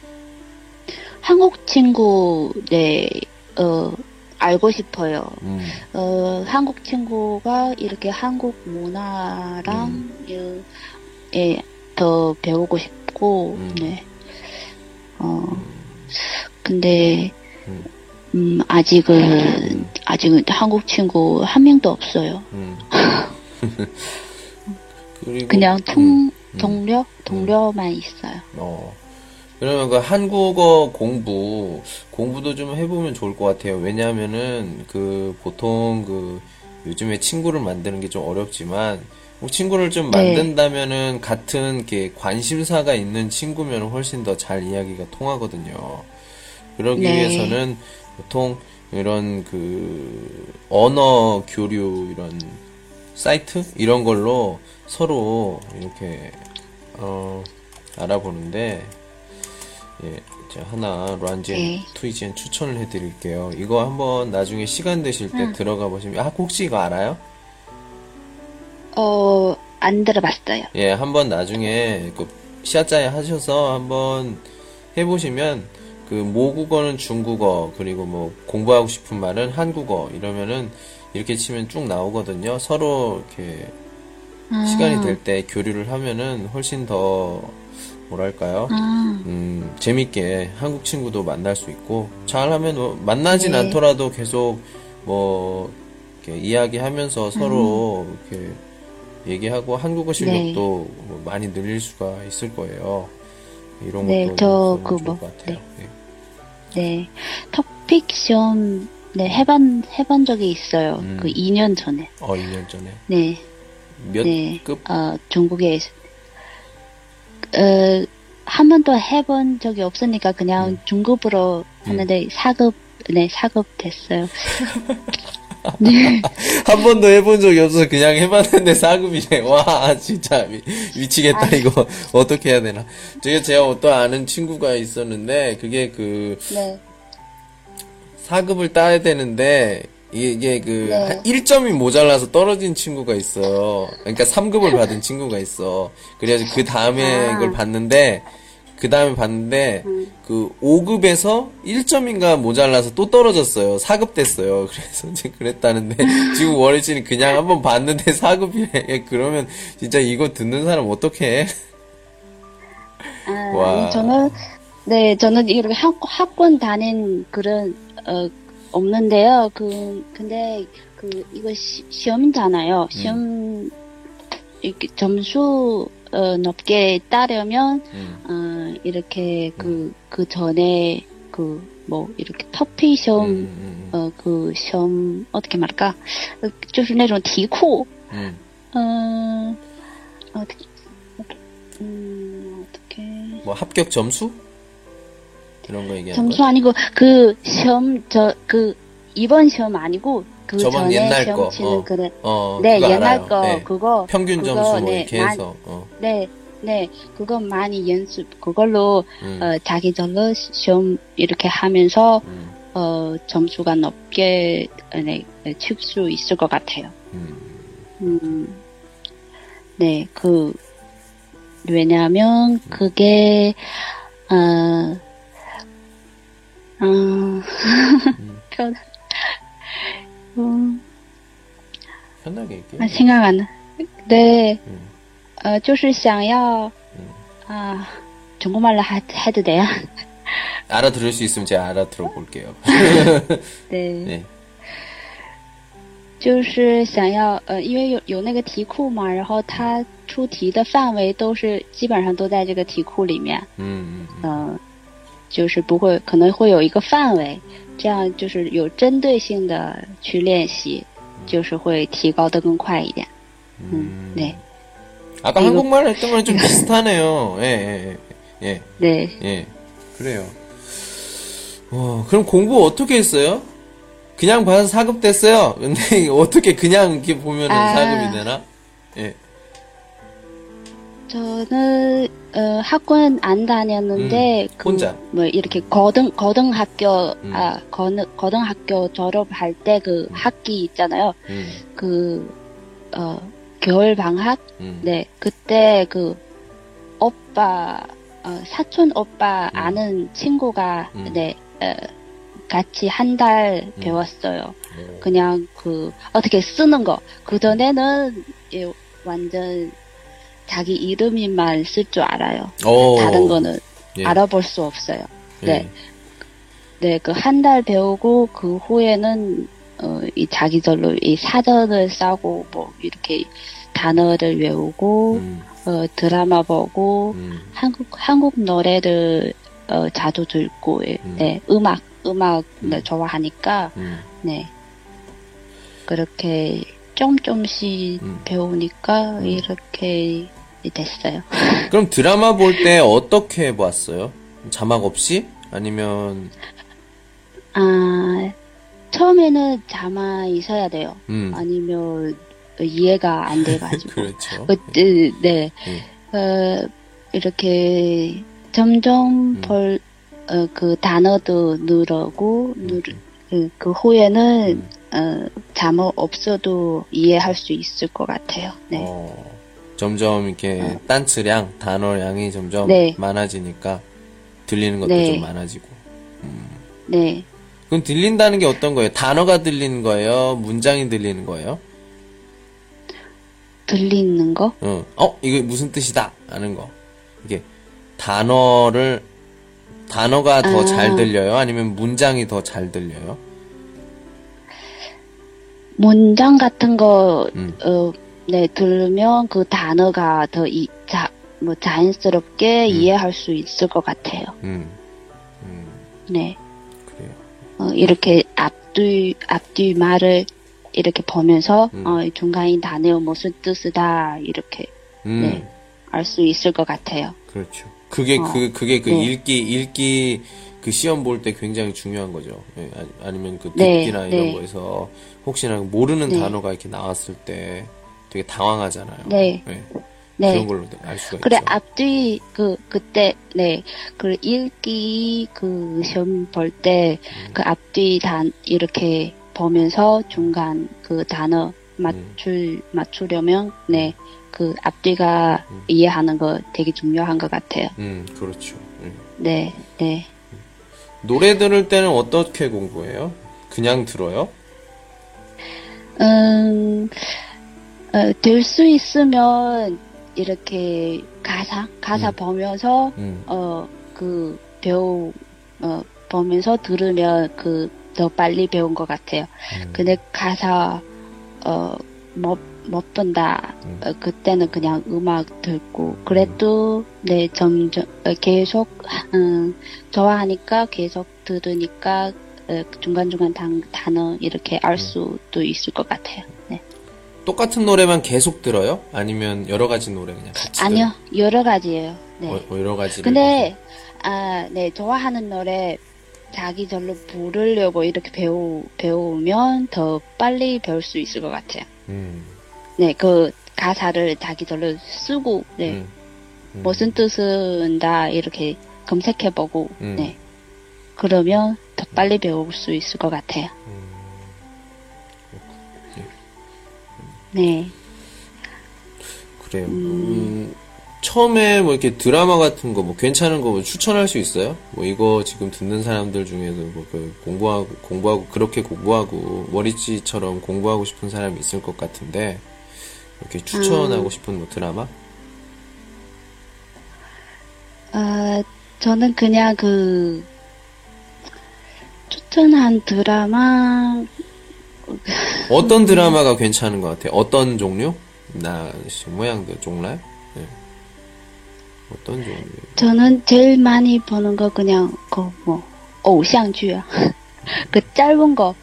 한국 친구, 네, 알고 싶어요. 한국 친구가 이렇게 한국 문화랑, 예, 더 배우고 싶고, 네. 근데, 아직은 한국 친구 한 명도 없어요. 그리고, 그냥 동료만 있어요. 그러면 그 한국어 공부도 좀 해보면 좋을 것 같아요. 왜냐하면은 보통 요즘에 친구를 만드는 게 좀 어렵지만, 뭐 친구를 좀 만든다면은 같은 이렇게 관심사가 있는 친구면 훨씬 더 잘 이야기가 통하거든요. 그러기 위해서는 보통 이런 언어 교류 이런 사이트 이런 걸로 서로 이렇게 알아보는데 예, 제가 하나 란지엔 투이지엔 추천을 해드릴게요. 이거 한번 나중에 시간 되실 때 들어가 보시면 혹시 이거 알아요? 안 들어봤어요. 예, 한번 나중에 시아짜에 하셔서 한번 해보시면 모국어는 중국어 그리고 뭐 공부하고 싶은 말은 한국어 이러면은 이렇게 치면 쭉 나오거든요. 서로 이렇게 시간이 될 때 교류를 하면은 훨씬 더 뭐랄까요? 아, 재밌게 한국 친구도 만날 수 있고, 잘하면 뭐 만나진 네. 않더라도 계속 뭐, 이렇게 이야기하면서 서로 이렇게 얘기하고 한국어 실력도 뭐 많이 늘릴 수가 있을 거예요. 이런 네, 것도 저, 있으면 좋을 뭐, 것 같아요. 네. 네. 토픽 시험, 네, 해본 적이 있어요. 그 2년 전에. 2년 전에. 네, 몇 네. 급? 중국에, 한 번도 해본 적이 없으니까 그냥 중급으로 하는데 4급, 네, 4급 됐어요. 네. 한 번도 해본 적이 없어서 그냥 해봤는데 4급이네. 와, 진짜 미치겠다. 이거 어떻게 해야 되나. 제가 어떤 아는 친구가 있었는데, 그게 네. 4급을 따야 되는데, 이게 네. 1점이 모자라서 떨어진 친구가 있어요. 그러니까 3급을 받은 친구가 있어. 그래가지고 그 다음에 이걸 봤는데, 그 5급에서 1점인가 모자라서 또 떨어졌어요. 4급 됐어요. 그래서 이제 그랬다는데, 지금 월요일은 그냥 한번 봤는데 4급이래. 그러면 진짜 이거 듣는 사람 어떡해? 와. 아니, 저는 이렇게 학원 다닌 그런, 없는데요. 근데, 이거 시험이잖아요. 시험, 이렇게 점수, 높게 따려면, 이렇게 그 전에, 이렇게 터피 시험, 시험, 어떻게 말할까? 就是那种题库, 어떻게. 뭐 합격 점수? 이런 거 얘기하는 점수 거야? 아니고, 시험, 이번 시험 아니고, 저번 전에 옛날 시험 거. 치는 네, 그거 옛날 알아요. 거, 네. 그거. 평균 그거, 점수 뭐 네, 이렇게 해서. 네, 그거 많이 그걸로, 자기절로 시험 이렇게 하면서, 점수가 높게, 네, 칠 수 있을 것 같아요. 네, 왜냐면, 그게, 편하게 얘기해. 생각 안 나. 네, 就是想要, 중국말로 해도 돼요? 알아들을 수 있으면 제가 알아들어 볼게요. 네. 네. 就是想要因为有那个题库嘛，然后它出题的范围基本上都在这个题库里面，就是可能会有一个范围，这样就是有针对性的去练习，就是会提高得更快一点。네. 아까 한국말 했던 거랑 좀 비슷하네요. 예. 네. 예. 그래요. 그럼 공부 어떻게 했어요? 그냥 봐서 4급 됐어요. 근데 어떻게 그냥 이렇게 보면은 4급이 되나? 예. 저는 학원 안 다녔는데 혼자 뭐 이렇게 고등학교 고등학교 졸업할 때 그 학기 있잖아요. 겨울 방학 네 그때 오빠 사촌 오빠 아는 친구가 네 같이 한 달 배웠어요. 그냥 어떻게 쓰는 거. 그 전에는 완전 자기 이름만 쓸 줄 알아요. 다른 거는 알아볼 수 없어요. 네. 네, 한 달 배우고 그 후에는 이 자기절로 이 사전을 싸고 뭐 이렇게 단어를 외우고 드라마 보고 한국 노래를 자주 듣고 네, 음악 좋아하니까 네. 그렇게 조금씩 배우니까 이렇게 됐어요. 그럼 드라마 볼 때 어떻게 봤어요? 자막 없이? 아니면 처음에는 자막 있어야 돼요. 아니면 이해가 안 돼가지고. 그렇죠. 네. 이렇게 점점 그 단어도 늘고 그 후에는 자막 없어도 이해할 수 있을 것 같아요. 네. 점점 이렇게 단词량, 단어량이 점점 많아지니까 들리는 것도 좀 많아지고. 네. 그럼 들린다는 게 어떤 거예요? 단어가 들리는 거예요? 문장이 들리는 거예요? 들리는 거? 이거 무슨 뜻이다? 하는 거. 이게 단어가 더 잘 들려요? 아니면 문장이 더 잘 들려요? 문장 같은 거, 네, 들으면 그 단어가 더 자연스럽게 이해할 수 있을 것 같아요. 네. 그래요. 이렇게 앞뒤 말을 이렇게 보면서, 중간에 단어 무슨 뜻이다, 이렇게, 네, 알 수 있을 것 같아요. 그렇죠. 그게 네. 읽기, 그 시험 볼 때 굉장히 중요한 거죠. 예, 아니면 그 네, 듣기나 이런 네. 거에서 혹시나 모르는 네. 단어가 이렇게 나왔을 때 되게 당황하잖아요. 네. 예, 네. 그런 걸로 알 수가 그래, 있죠. 앞뒤, 그때, 네, 그 읽기, 그 시험 볼 때, 그 앞뒤 이렇게 보면서 중간 그 단어 맞추려면, 네, 그 앞뒤가 이해하는 거 되게 중요한 것 같아요. 그렇죠. 예. 네, 네. 노래 들을 때는 어떻게 공부해요? 그냥 들어요? 될 수 있으면, 이렇게 가사 보면서, 보면서 들으면 더 빨리 배운 것 같아요. 근데 가사, 못 본다. 그때는 그냥 음악 듣고, 그래도, 네, 점점, 계속, 좋아하니까 계속 들으니까, 중간중간 단어 이렇게 알 수도 있을 것 같아요. 네. 똑같은 노래만 계속 들어요? 아니면 여러 가지 노래 그냥 같이 아니요, 여러 가지예요. 네. 여러 가지를. 근데, 네, 좋아하는 노래 자기 절로 부르려고 이렇게 배우면 더 빨리 배울 수 있을 것 같아요. 네, 그 가사를 자기 절로 쓰고, 네, 무슨 뜻은다 이렇게 검색해보고, 네, 그러면 더 빨리 배울 수 있을 것 같아요. 네. 그래요. 처음에 뭐 이렇게 드라마 같은 거 뭐 괜찮은 거 뭐 추천할 수 있어요? 뭐 이거 지금 듣는 사람들 중에서 뭐 그 공부하고 그렇게 공부하고 머리찌처럼 공부하고 싶은 사람이 있을 것 같은데 이렇게 추천하고 싶은 뭐 드라마? 저는 그냥 추천한 드라마 어떤 드라마가 괜찮은 것 같아요? 어떤 종류? 모양들 종류? 네. 어떤 종류? 저는 제일 많이 보는 거 그냥偶像剧啊. 그 짧은 거,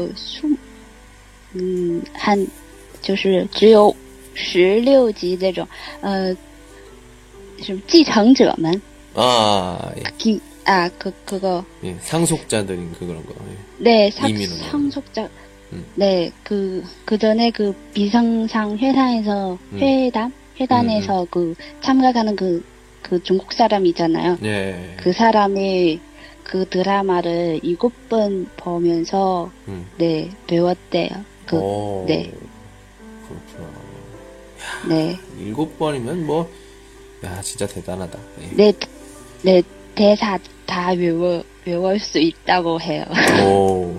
就是只有16集这种, 什么继承者们. 예. 그거. 예, 상속자들인 그런 거. 예. 네, 상속자. 네, 그 전에 그 비정상 회담에서 참가하는 그 중국 사람이잖아요. 예. 그 사람이 그 드라마를 7번 보면서, 네, 배웠대요. 네. 그렇구나. 네. 7번이면 뭐, 야, 진짜 대단하다. 예. 네, 대사 다 외울 수 있다고 해요. 오.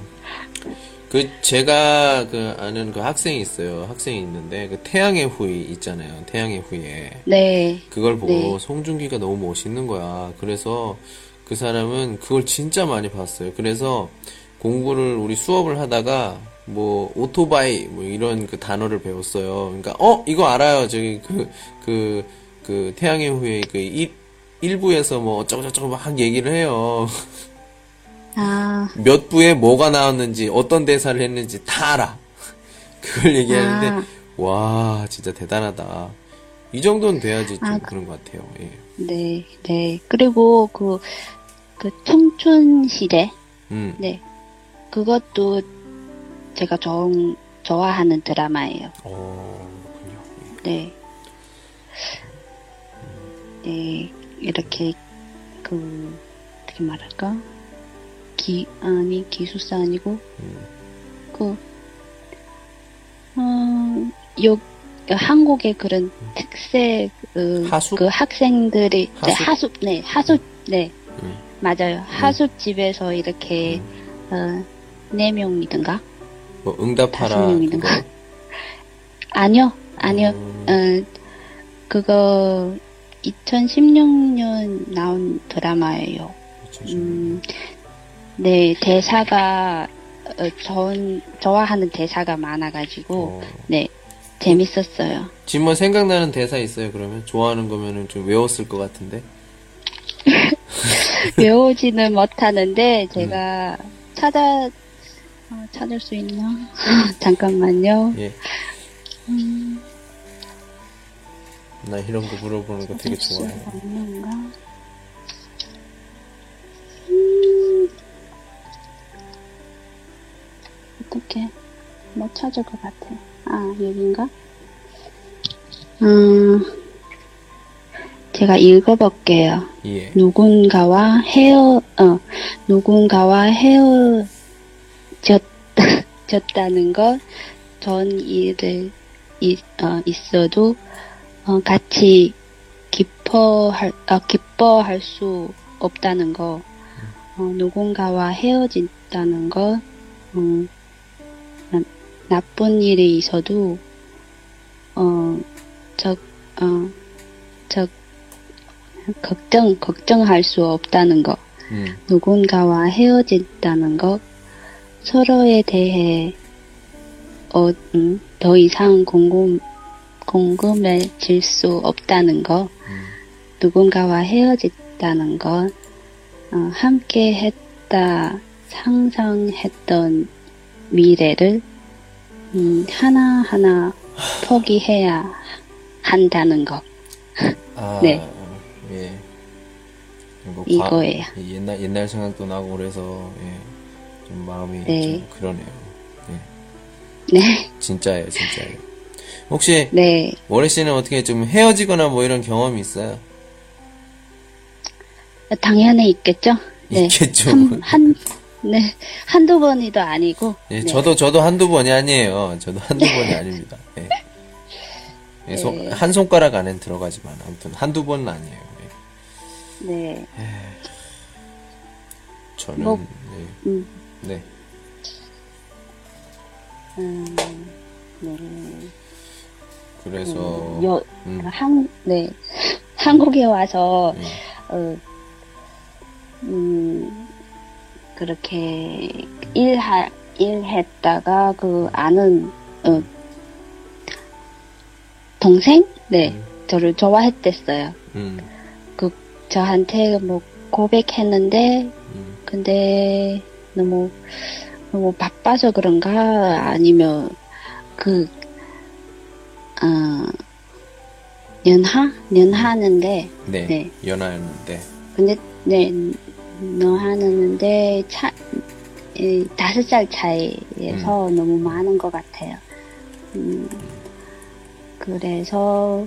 제가 아는 그 학생이 있어요. 학생이 있는데, 태양의 후예 있잖아요. 태양의 후예. 네. 그걸 보고 네. 송중기가 너무 멋있는 거야. 그래서 그 사람은 그걸 진짜 많이 봤어요. 그래서 우리 수업을 하다가, 뭐, 오토바이, 뭐, 이런 그 단어를 배웠어요. 그러니까, 이거 알아요. 저기, 태양의 후예, 일부에서 뭐, 어쩌고저쩌고 막 얘기를 해요. 몇 부에 뭐가 나왔는지, 어떤 대사를 했는지 다 알아. 그걸 얘기하는데, 와, 진짜 대단하다. 이 정도는 돼야지 좀 그런 것 같아요. 예. 네, 네. 그리고 청춘시대. 네. 그것도 제가 좋아하는 드라마예요. 그렇군요. 네. 네, 이렇게, 어떻게 말할까? 기숙사 아니고, 한국의 그런 특색, 하숙? 그 학생들이, 하숙? 네, 하숙, 네. 맞아요. 하숙집에서 이렇게, 4명이든가? 뭐, 응답하라. 5명이든가? 그거? 아니요. 그거, 2016년 나온 드라마예요. 2016년. 네, 대사가, 좋아하는 대사가 많아가지고, 네, 재밌었어요. 지금 뭐 생각나는 대사 있어요, 그러면? 좋아하는 거면은 좀 외웠을 것 같은데? 외우지는 못하는데, 제가 찾을 수 있나? 잠깐만요. 예. 나 이런 거 물어보는 거 되게 좋아해. 없는가? 어떻게, 못 찾을 것 같아. 아, 여긴가? 제가 읽어볼게요. 예. 누군가와 헤어졌다는 것, 전 일을, 있어도, 같이 기뻐할 수 없다는 것, 누군가와 헤어진다는 것, 나쁜 일이 있어도, 걱정할 수 없다는 것, 누군가와 헤어진다는 것, 서로에 대해, 더 이상 궁금해질 수 없다는 것, 누군가와 헤어졌다는 것, 함께 했다 상상했던 미래를, 하나하나 포기해야 한다는 것. 아, 네. 예. 이거예요. 옛날 생각도 나고 그래서, 예. 좀 마음이 네. 좀 그러네요. 예. 네. 진짜예요. 혹시, 네. 월혜 씨는 어떻게 좀 헤어지거나 뭐 이런 경험이 있어요? 당연히 있겠죠? 네. 있겠죠. 네. 한두 번이도 아니고. 예, 네. 저도 한두 번이 아니에요. 저도 한두 번이 아닙니다. 예. 예, 네. 한 손가락 안엔 들어가지만, 아무튼 한두 번은 아니에요. 예. 네. 저는, 뭐, 네. 네. 네. 그래서, 네. 한국에 와서, 그렇게 일했다가 아는, 동생? 네. 저를 좋아했댔어요. 저한테 뭐 고백했는데, 근데 너무 바빠서 그런가? 아니면, 연하는데, 네. 네. 연하였는데. 근데, 네, 연하는데, 5살 차이에서 너무 많은 것 같아요. 그래서,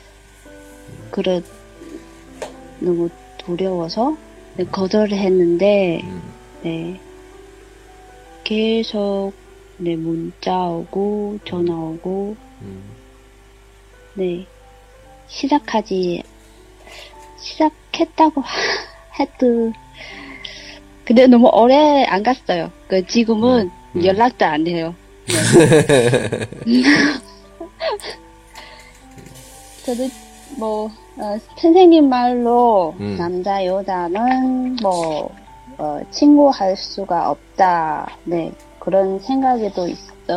너무 두려워서, 네, 거절을 했는데, 네, 계속, 네, 문자 오고, 전화 오고, 네, 시작했다고 해도, 근데 너무 오래 안 갔어요. 지금은 연락도 안 돼요. 네. 저도 선생님 말로 남자 여자는 친구 할 수가 없다. 네, 그런 생각에도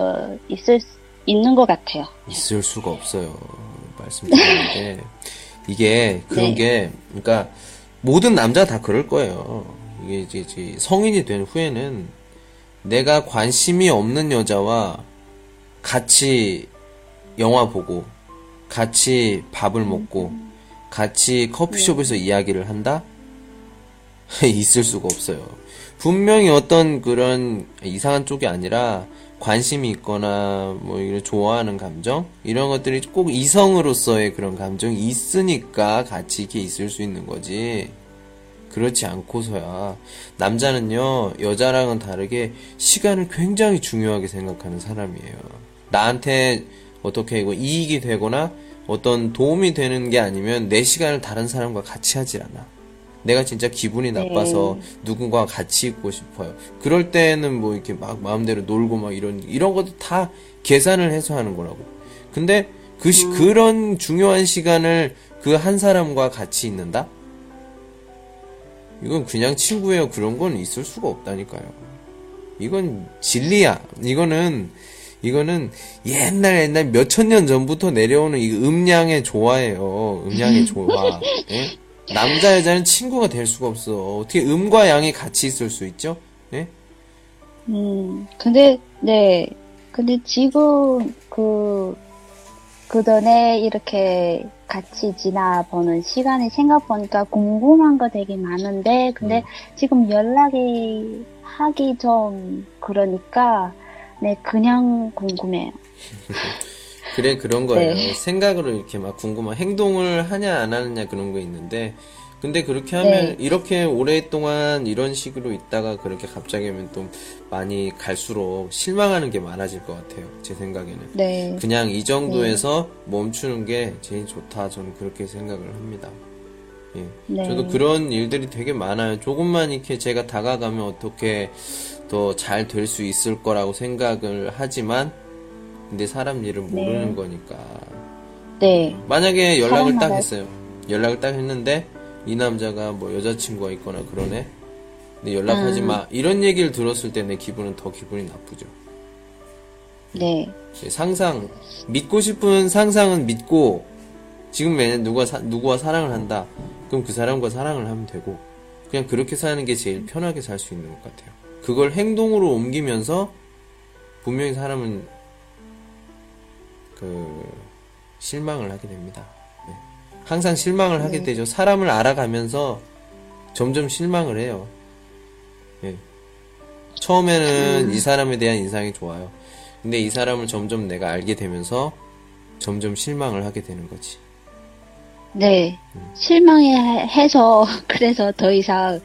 있는 것 같아요. 있을 수가 없어요. 말씀드리는데 이게 그런 네. 게, 그러니까 모든 남자 다 그럴 거예요. 이게 이제 성인이 된 후에는 내가 관심이 없는 여자와 같이 영화 보고, 같이 밥을 먹고, 같이 커피숍에서 이야기를 한다? 있을 수가 없어요. 분명히 어떤 그런 이상한 쪽이 아니라 관심이 있거나 뭐 이런 좋아하는 감정 이런 것들이 꼭 이성으로서의 그런 감정이 있으니까 같이 이렇게 있을 수 있는 거지. 그렇지 않고서야. 남자는요, 여자랑은 다르게 시간을 굉장히 중요하게 생각하는 사람이에요. 나한테 어떻게 이익이 되거나 어떤 도움이 되는 게 아니면 내 시간을 다른 사람과 같이 하질 않아. 내가 진짜 기분이 나빠서 누군가와 같이 있고 싶어요. 그럴 때는 뭐 이렇게 막 마음대로 놀고 막 이런 것도 다 계산을 해서 하는 거라고. 근데 그런 중요한 시간을 그 한 사람과 같이 있는다? 이건 그냥 친구예요. 그런 건 있을 수가 없다니까요. 이건 진리야. 이거는 옛날 몇천 년 전부터 내려오는 이 음양의 조화예요. 음양의 조화. 예? 남자 여자는 친구가 될 수가 없어. 어떻게 음과 양이 같이 있을 수 있죠? 예? 근데 지금 그 전에 이렇게 같이 지나보는 시간이 생각보니까 궁금한 거 되게 많은데, 근데 지금 연락이 하기 좀 그러니까, 네, 그냥 궁금해요. 그래, 그런 거예요. 네. 생각으로 이렇게 막 궁금한, 행동을 하냐, 안 하느냐 그런 거 있는데, 근데 그렇게 하면, 네. 이렇게 오랫동안 이런 식으로 있다가 그렇게 갑자기 하면 또 많이 갈수록 실망하는 게 많아질 것 같아요. 제 생각에는. 네. 그냥 이 정도에서 멈추는 게 제일 좋다. 저는 그렇게 생각을 합니다. 예. 네. 저도 그런 일들이 되게 많아요. 조금만 이렇게 제가 다가가면 어떻게 더 잘 될 수 있을 거라고 생각을 하지만, 근데 사람 일은 모르는 거니까. 네. 만약에 연락을 딱 사람 했어요. 연락을 딱 했는데, 이 남자가 뭐 여자친구가 있거나 그러네. 근데 연락하지 마. 이런 얘기를 들었을 때 내 기분은 더 기분이 나쁘죠. 네. 상상, 믿고 싶은 상상은 믿고, 지금 만약 누구와 사랑을 한다. 그럼 그 사람과 사랑을 하면 되고, 그냥 그렇게 사는 게 제일 편하게 살 수 있는 것 같아요. 그걸 행동으로 옮기면서, 분명히 사람은, 실망을 하게 됩니다. 네. 항상 실망을 하게 되죠. 사람을 알아가면서 점점 실망을 해요. 네. 처음에는 이 사람에 대한 인상이 좋아요. 근데 이 사람을 점점 내가 알게 되면서 점점 실망을 하게 되는 거지. 네. 실망해서, 그래서 더 이상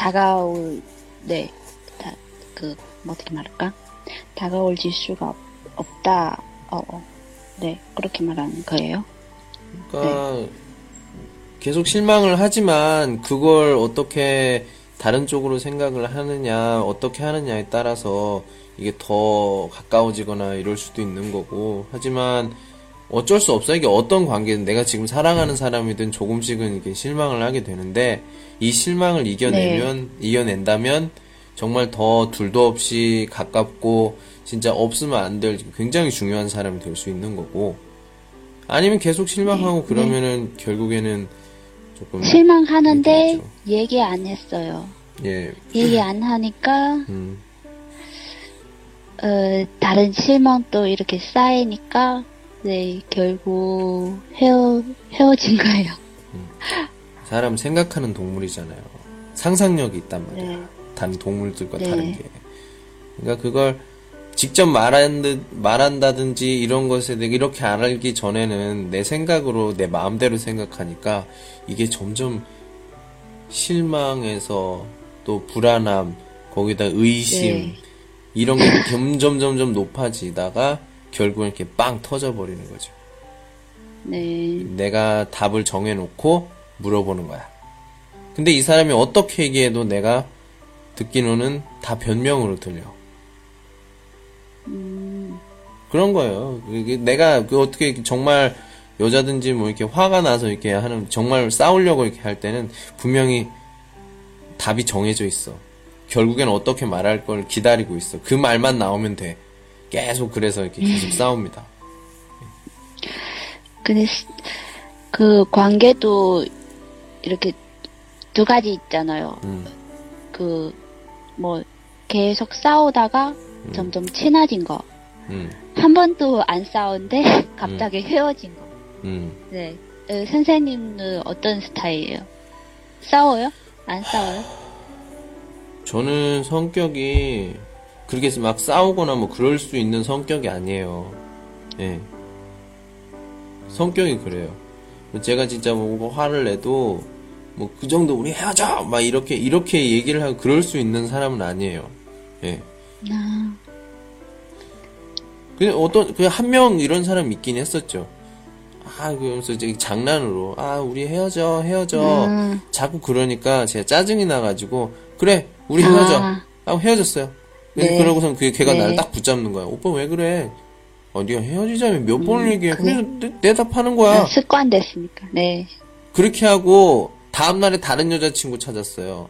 네. 어떻게 말할까? 다가올 지수가 없다. 네. 그렇게 말하는 거예요. 그러니까, 계속 실망을 하지만, 그걸 어떻게 다른 쪽으로 생각을 하느냐, 어떻게 하느냐에 따라서 이게 더 가까워지거나 이럴 수도 있는 거고, 하지만, 어쩔 수 없어. 이게 어떤 관계든 내가 지금 사랑하는 사람이든 조금씩은 이게 실망을 하게 되는데, 이 실망을 이겨낸다면, 정말 더 둘도 없이 가깝고, 진짜 없으면 안 될 굉장히 중요한 사람이 될 수 있는 거고, 아니면 계속 실망하고 그러면은 결국에는 조금. 실망하는데 얘기 안 했어요. 예. 얘기 안 하니까, 다른 실망도 이렇게 쌓이니까, 네, 결국 헤어진 거예요. 사람 생각하는 동물이잖아요. 상상력이 있단 말이야. 네. 다른 동물들과 네. 다른 게. 그러니까 그걸 직접 말한다든지 이런 것에 내가 이렇게 알기 전에는 내 생각으로 내 마음대로 생각하니까 이게 점점 실망해서 또 불안함, 거기다 의심, 네. 이런 게 점점 높아지다가 결국은 이렇게 빵 터져버리는 거죠. 네. 내가 답을 정해놓고 물어보는 거야. 근데 이 사람이 어떻게 얘기해도 내가 듣기로는 다 변명으로 들려. 그런 거예요. 이게 내가 어떻게 정말 여자든지 뭐 이렇게 화가 나서 이렇게 하는, 정말 싸우려고 이렇게 할 때는 분명히 답이 정해져 있어. 결국엔 어떻게 말할 걸 기다리고 있어. 그 말만 나오면 돼. 계속 그래서 이렇게 계속 싸웁니다. 근데 그 관계도 이렇게 두 가지 있잖아요. 계속 싸우다가 점점 친해진 거. 한 번도 안 싸운데 갑자기 헤어진 거. 네. 선생님은 어떤 스타일이에요? 싸워요? 안 싸워요? 저는 성격이 그렇게 막 싸우거나 뭐 그럴 수 있는 성격이 아니에요. 예. 성격이 그래요. 제가 진짜 뭐 화를 내도 뭐 그 정도 우리 헤어져! 막 이렇게 얘기를 하고 그럴 수 있는 사람은 아니에요. 예. 그냥 한 명 이런 사람 있긴 했었죠. 그러면서 이제 장난으로, 우리 헤어져. 자꾸 그러니까 제가 짜증이 나가지고, 그래, 우리 헤어져. 헤어졌어요. 네. 그러고선 걔가 네. 나를 딱 붙잡는 거야. 오빠 왜 그래? 네가 헤어지자면 몇 번을 얘기해. 그래? 그래서 대답하는 거야. 습관 됐으니까. 네. 그렇게 하고 다음날에 다른 여자친구 찾았어요.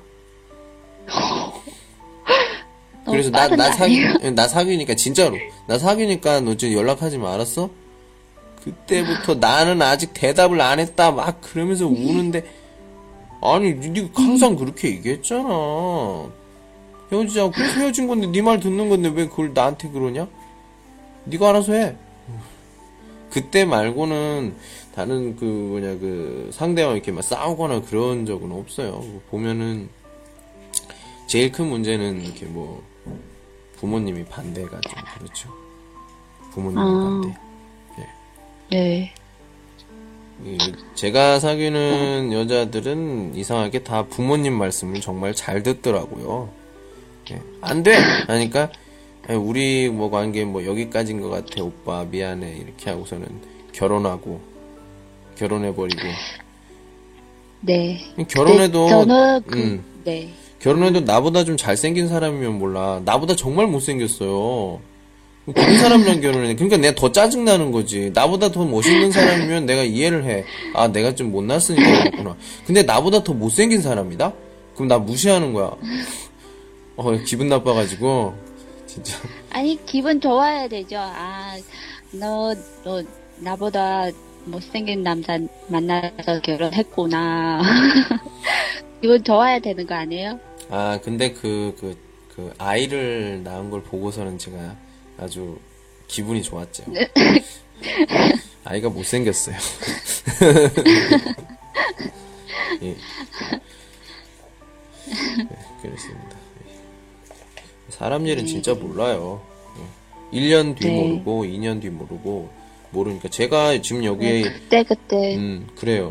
그래서 빠른 거 아니에요? 나 사귀니까 진짜로 나 사귀니까 너 지금 연락하지 마, 알았어? 그때부터 나는 아직 대답을 안 했다 막 그러면서 우는데, 아니 네가 항상 그렇게 얘기했잖아. 헤어지자고. 그래서 헤어진 건데 네 말 듣는 건데 왜 그걸 나한테 그러냐? 네가 알아서 해. 그때 말고는 다른 그 상대와 이렇게 막 싸우거나 그런 적은 없어요. 보면은 제일 큰 문제는 이렇게 뭐 부모님이 반대가 좀 그렇죠. 부모님의 반대. 네. 제가 사귀는 여자들은 이상하게 다 부모님 말씀을 정말 잘 듣더라고요. 안 돼! 하니까, 우리 뭐 관계 뭐 여기까지인 것 같아, 오빠. 미안해. 이렇게 하고서는 결혼해버리고. 네. 결혼해도, 네, 저는 네. 결혼해도 나보다 좀 잘생긴 사람이면 몰라. 나보다 정말 못생겼어요. 그런 사람이랑 결혼해. 그러니까 내가 더 짜증나는 거지. 나보다 더 멋있는 사람이면 내가 이해를 해. 아, 내가 좀 못났으니까 그렇구나. 근데 나보다 더 못생긴 사람이다? 그럼 나 무시하는 거야. 기분 나빠가지고, 진짜. 아니, 기분 좋아야 되죠. 아, 너 나보다 못생긴 남자 만나서 결혼했구나. 기분 좋아야 되는 거 아니에요? 아, 근데 아이를 낳은 걸 보고서는 제가 아주 기분이 좋았죠. 아이가 못생겼어요. 예. 그렇습니다. 사람 일은 진짜 몰라요. 1년 뒤 모르고 2년 뒤 모르니까 제가 지금 여기에 그때 그래요.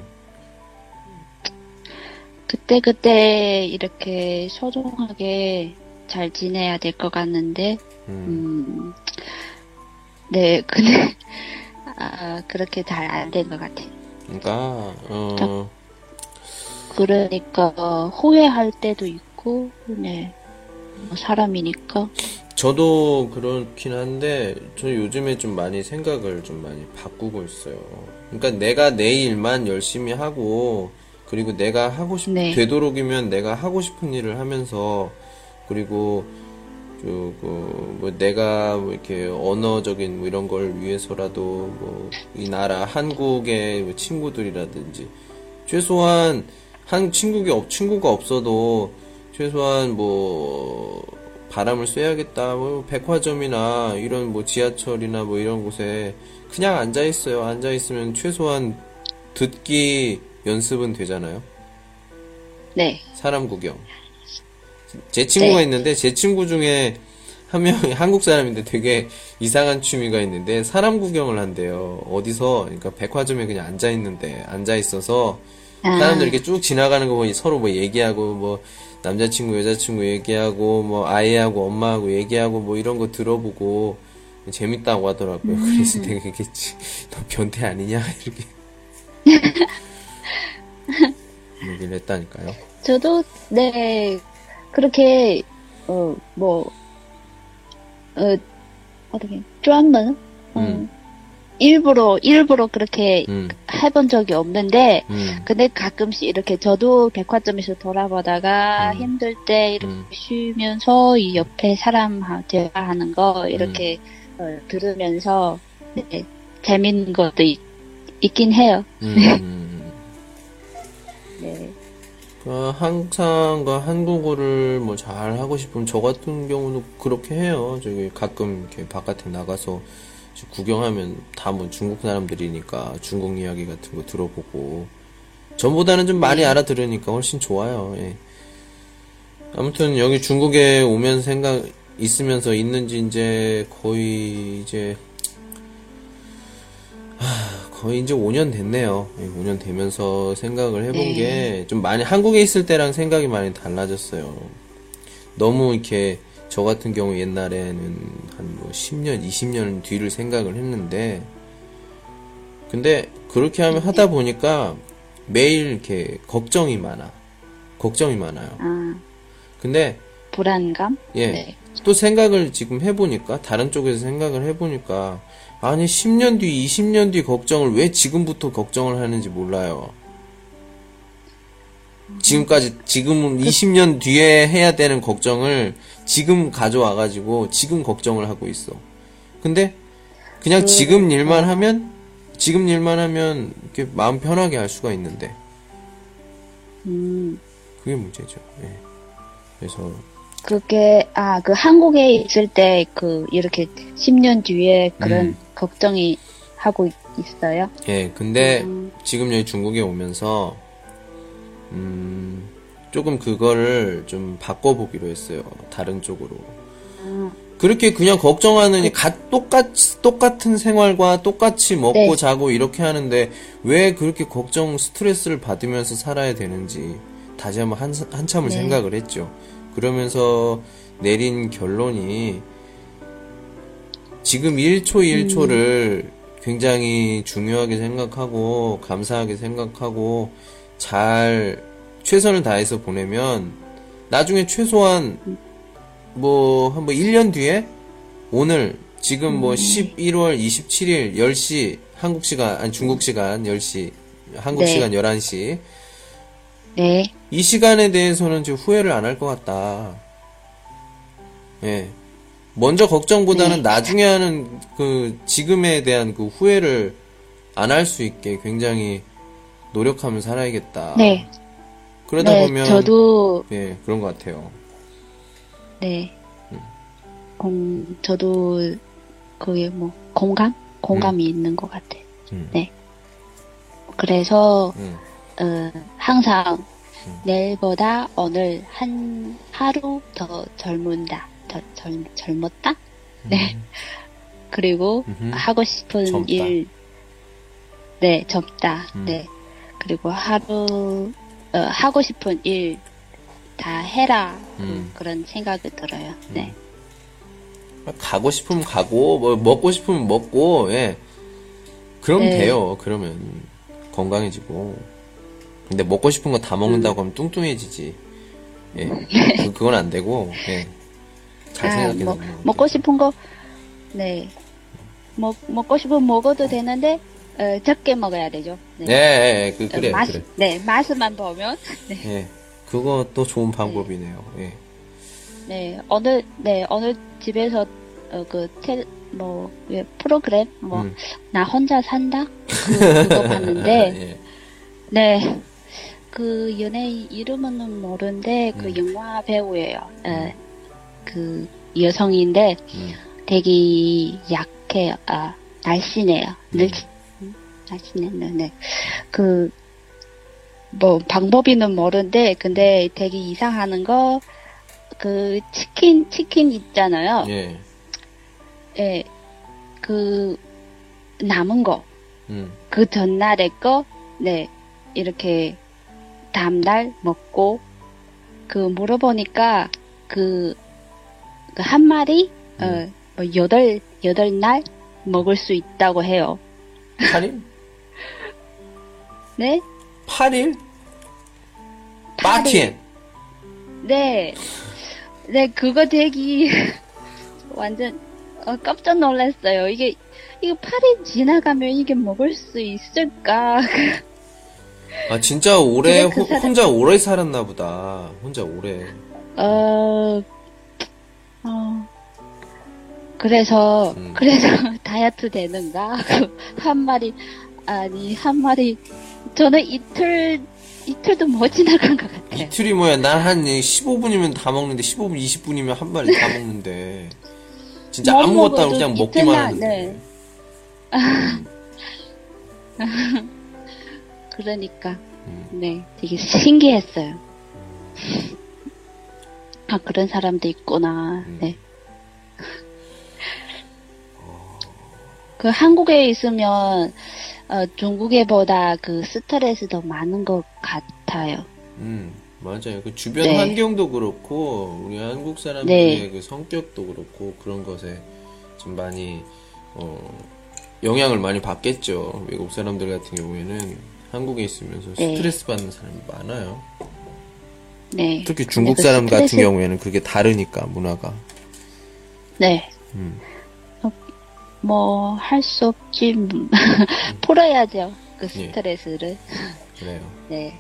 그때 이렇게 소중하게 잘 지내야 될 것 같는데 네, 근데 그렇게 잘 안 된 것 같아요. 그러니까 후회할 때도 있고, 네, 사람이니까. 저도 그렇긴 한데, 저 요즘에 좀 많이 생각을 좀 많이 바꾸고 있어요. 그러니까 내가 내 일만 열심히 하고, 그리고 내가 되도록이면 내가 하고 싶은 일을 하면서, 그리고 뭐 내가 뭐 이렇게 언어적인 뭐 이런 걸 위해서라도 뭐 이 나라 한국의 뭐 친구들이라든지 최소한 친구가 없어도 최소한 뭐 바람을 쐬야겠다. 뭐 백화점이나 이런 뭐 지하철이나 뭐 이런 곳에 그냥 앉아 있어요. 앉아 있으면 최소한 듣기 연습은 되잖아요. 네. 사람 구경. 제 친구가 있는데 제 친구 중에 한 명이 한국 사람인데 되게 이상한 취미가 있는데 사람 구경을 한대요. 어디서 그러니까 백화점에 그냥 앉아 있어서 사람들 이렇게 쭉 지나가는 거 보니 서로 뭐 얘기하고 뭐 남자친구 여자친구 얘기하고 뭐 아이하고 엄마하고 얘기하고 뭐 이런 거 들어보고 재밌다고 하더라고요. 그래서 내가 얘기했지. 너 변태 아니냐 이렇게 얘기를 했다니까요. 저도 네. 그렇게 어떻게 专门 일부러 그렇게 해본 적이 없는데 근데 가끔씩 이렇게 저도 백화점에서 돌아보다가 힘들 때 이렇게 쉬면서 이 옆에 사람하고 대화하는 거 이렇게 들으면서 네, 재밌는 것도 있긴 해요. 네. 항상 한국어를 뭐 잘 하고 싶으면 저 같은 경우도 그렇게 해요. 저기 가끔 이렇게 바깥에 나가서 구경하면 다 뭐 중국 사람들이니까 중국 이야기 같은 거 들어보고 전보다는 좀 많이 알아들으니까 훨씬 좋아요. 예. 아무튼 여기 중국에 오면 있으면서 있는지 이제 거의 이제 5년 됐네요. 5년 되면서 생각을 해본 게 좀 많이 한국에 있을 때랑 생각이 많이 달라졌어요. 너무 이렇게 저 같은 경우 옛날에는 한 뭐 10년, 20년 뒤를 생각을 했는데 근데 그렇게 하다 보니까 매일 이렇게 걱정이 많아요. 근데 불안감? 예. 네. 또 생각을 지금 해보니까, 다른 쪽에서 생각을 해보니까, 아니, 10년 뒤, 20년 뒤 걱정을 왜 지금부터 걱정을 하는지 몰라요. 지금은 20년 뒤에 해야 되는 걱정을 지금 가져와가지고, 지금 걱정을 하고 있어. 근데, 그냥 지금 일만 하면, 이렇게 마음 편하게 할 수가 있는데. 그게 문제죠. 예. 그래서, 그게, 그 한국에 있을 때, 이렇게 10년 뒤에 그런 걱정이 하고 있어요? 예, 근데 지금 여기 중국에 오면서, 조금 그거를 좀 바꿔보기로 했어요. 다른 쪽으로. 그렇게 그냥 걱정하느니 똑같은 생활과 똑같이 먹고 네. 자고 이렇게 하는데 왜 그렇게 걱정 스트레스를 받으면서 살아야 되는지 다시 한번 한참을 네. 생각을 했죠. 그러면서 내린 결론이 지금 1초 1초를 굉장히 중요하게 생각하고 감사하게 생각하고 잘 최선을 다해서 보내면 나중에 최소한 한 1년 뒤에 오늘 지금 11월 27일 10시 한국 시간 아니 중국 시간 10시 한국 네. 시간 11시 네. 이 시간에 대해서는 지금 후회를 안 할 것 같다. 예. 먼저 걱정보다는 나중에 하는 지금에 대한 그 후회를 안 할 수 있게 굉장히 노력하며 살아야겠다. 네. 그러다 네, 보면 저도 예, 그런 것 같아요. 네. 저도 그게 공감이 있는 것 같아요. 네. 그래서 항상 내일보다 오늘 하루 더 젊었다. 네. 그리고 하고 싶은 젊다. 일, 네, 젊다. 네. 그리고 하고 싶은 일 다 해라. 그런 생각이 들어요. 네. 가고 싶으면 가고, 먹고 싶으면 먹고, 예. 그럼 네. 돼요. 그러면 건강해지고. 근데 먹고 싶은 거 다 먹는다고 하면 뚱뚱해지지. 예. 그건 안 되고, 예. 잘 생각해서. 먹고 싶은 거, 네. 먹고 싶으면 먹어도 되는데, 적게 먹어야 되죠. 네. 예, 그래, 그래. 네, 맛만 보면. 네. 예. 그것도 좋은 방법이네요. 예. 네, 오늘 집에서, 프로그램, 나 혼자 산다? 그거 봤는데, 예. 네. 그 연예인 이름은 모르는데, 영화 배우예요. 여성인데, 되게 약해요. 날씬해요. 날씬해요. 네. 방법이는 모르는데, 근데 되게 이상하는 거, 치킨 있잖아요. 예. 예, 남은 거, 전날에 거, 네, 이렇게, 다음날 먹고, 물어보니까, 한 마리, 여덟 날 먹을 수 있다고 해요. 8일? 네? 8일? 8天. 네. 네, 그거 되게, 완전, 깜짝 놀랐어요. 이게 8일 지나가면 이게 먹을 수 있을까? 아, 진짜 오래, 근데 그 사람- 혼자 오래 살았나 보다. 혼자 오래. 그래서 다이어트 되는가? 한 마리, 저는 이틀도 못 지나간 것 같아요. 이틀이 뭐야. 난 한 15분이면 다 먹는데, 15분, 20분이면 한 마리 다 먹는데. 진짜 못 아무것도 안 하고 먹어도 그냥 먹기만 이틀날, 하는데. 네. 그러니까, 네, 되게 신기했어요. 그런 사람도 있구나, 네. 한국에 있으면, 중국에보다 스트레스 더 많은 것 같아요. 맞아요. 주변 네. 환경도 그렇고, 우리 한국 사람들의 네. 성격도 그렇고, 그런 것에 좀 많이, 영향을 많이 받겠죠. 외국 사람들 같은 경우에는 한국에 있으면서 네. 스트레스 받는 사람이 많아요. 네. 특히 중국 근데 사람 같은 스트레스- 경우에는 그게 다르니까, 문화가. 네. 뭐, 할 수 없지. 풀어야죠. 그 스트레스를. 그래요. 네.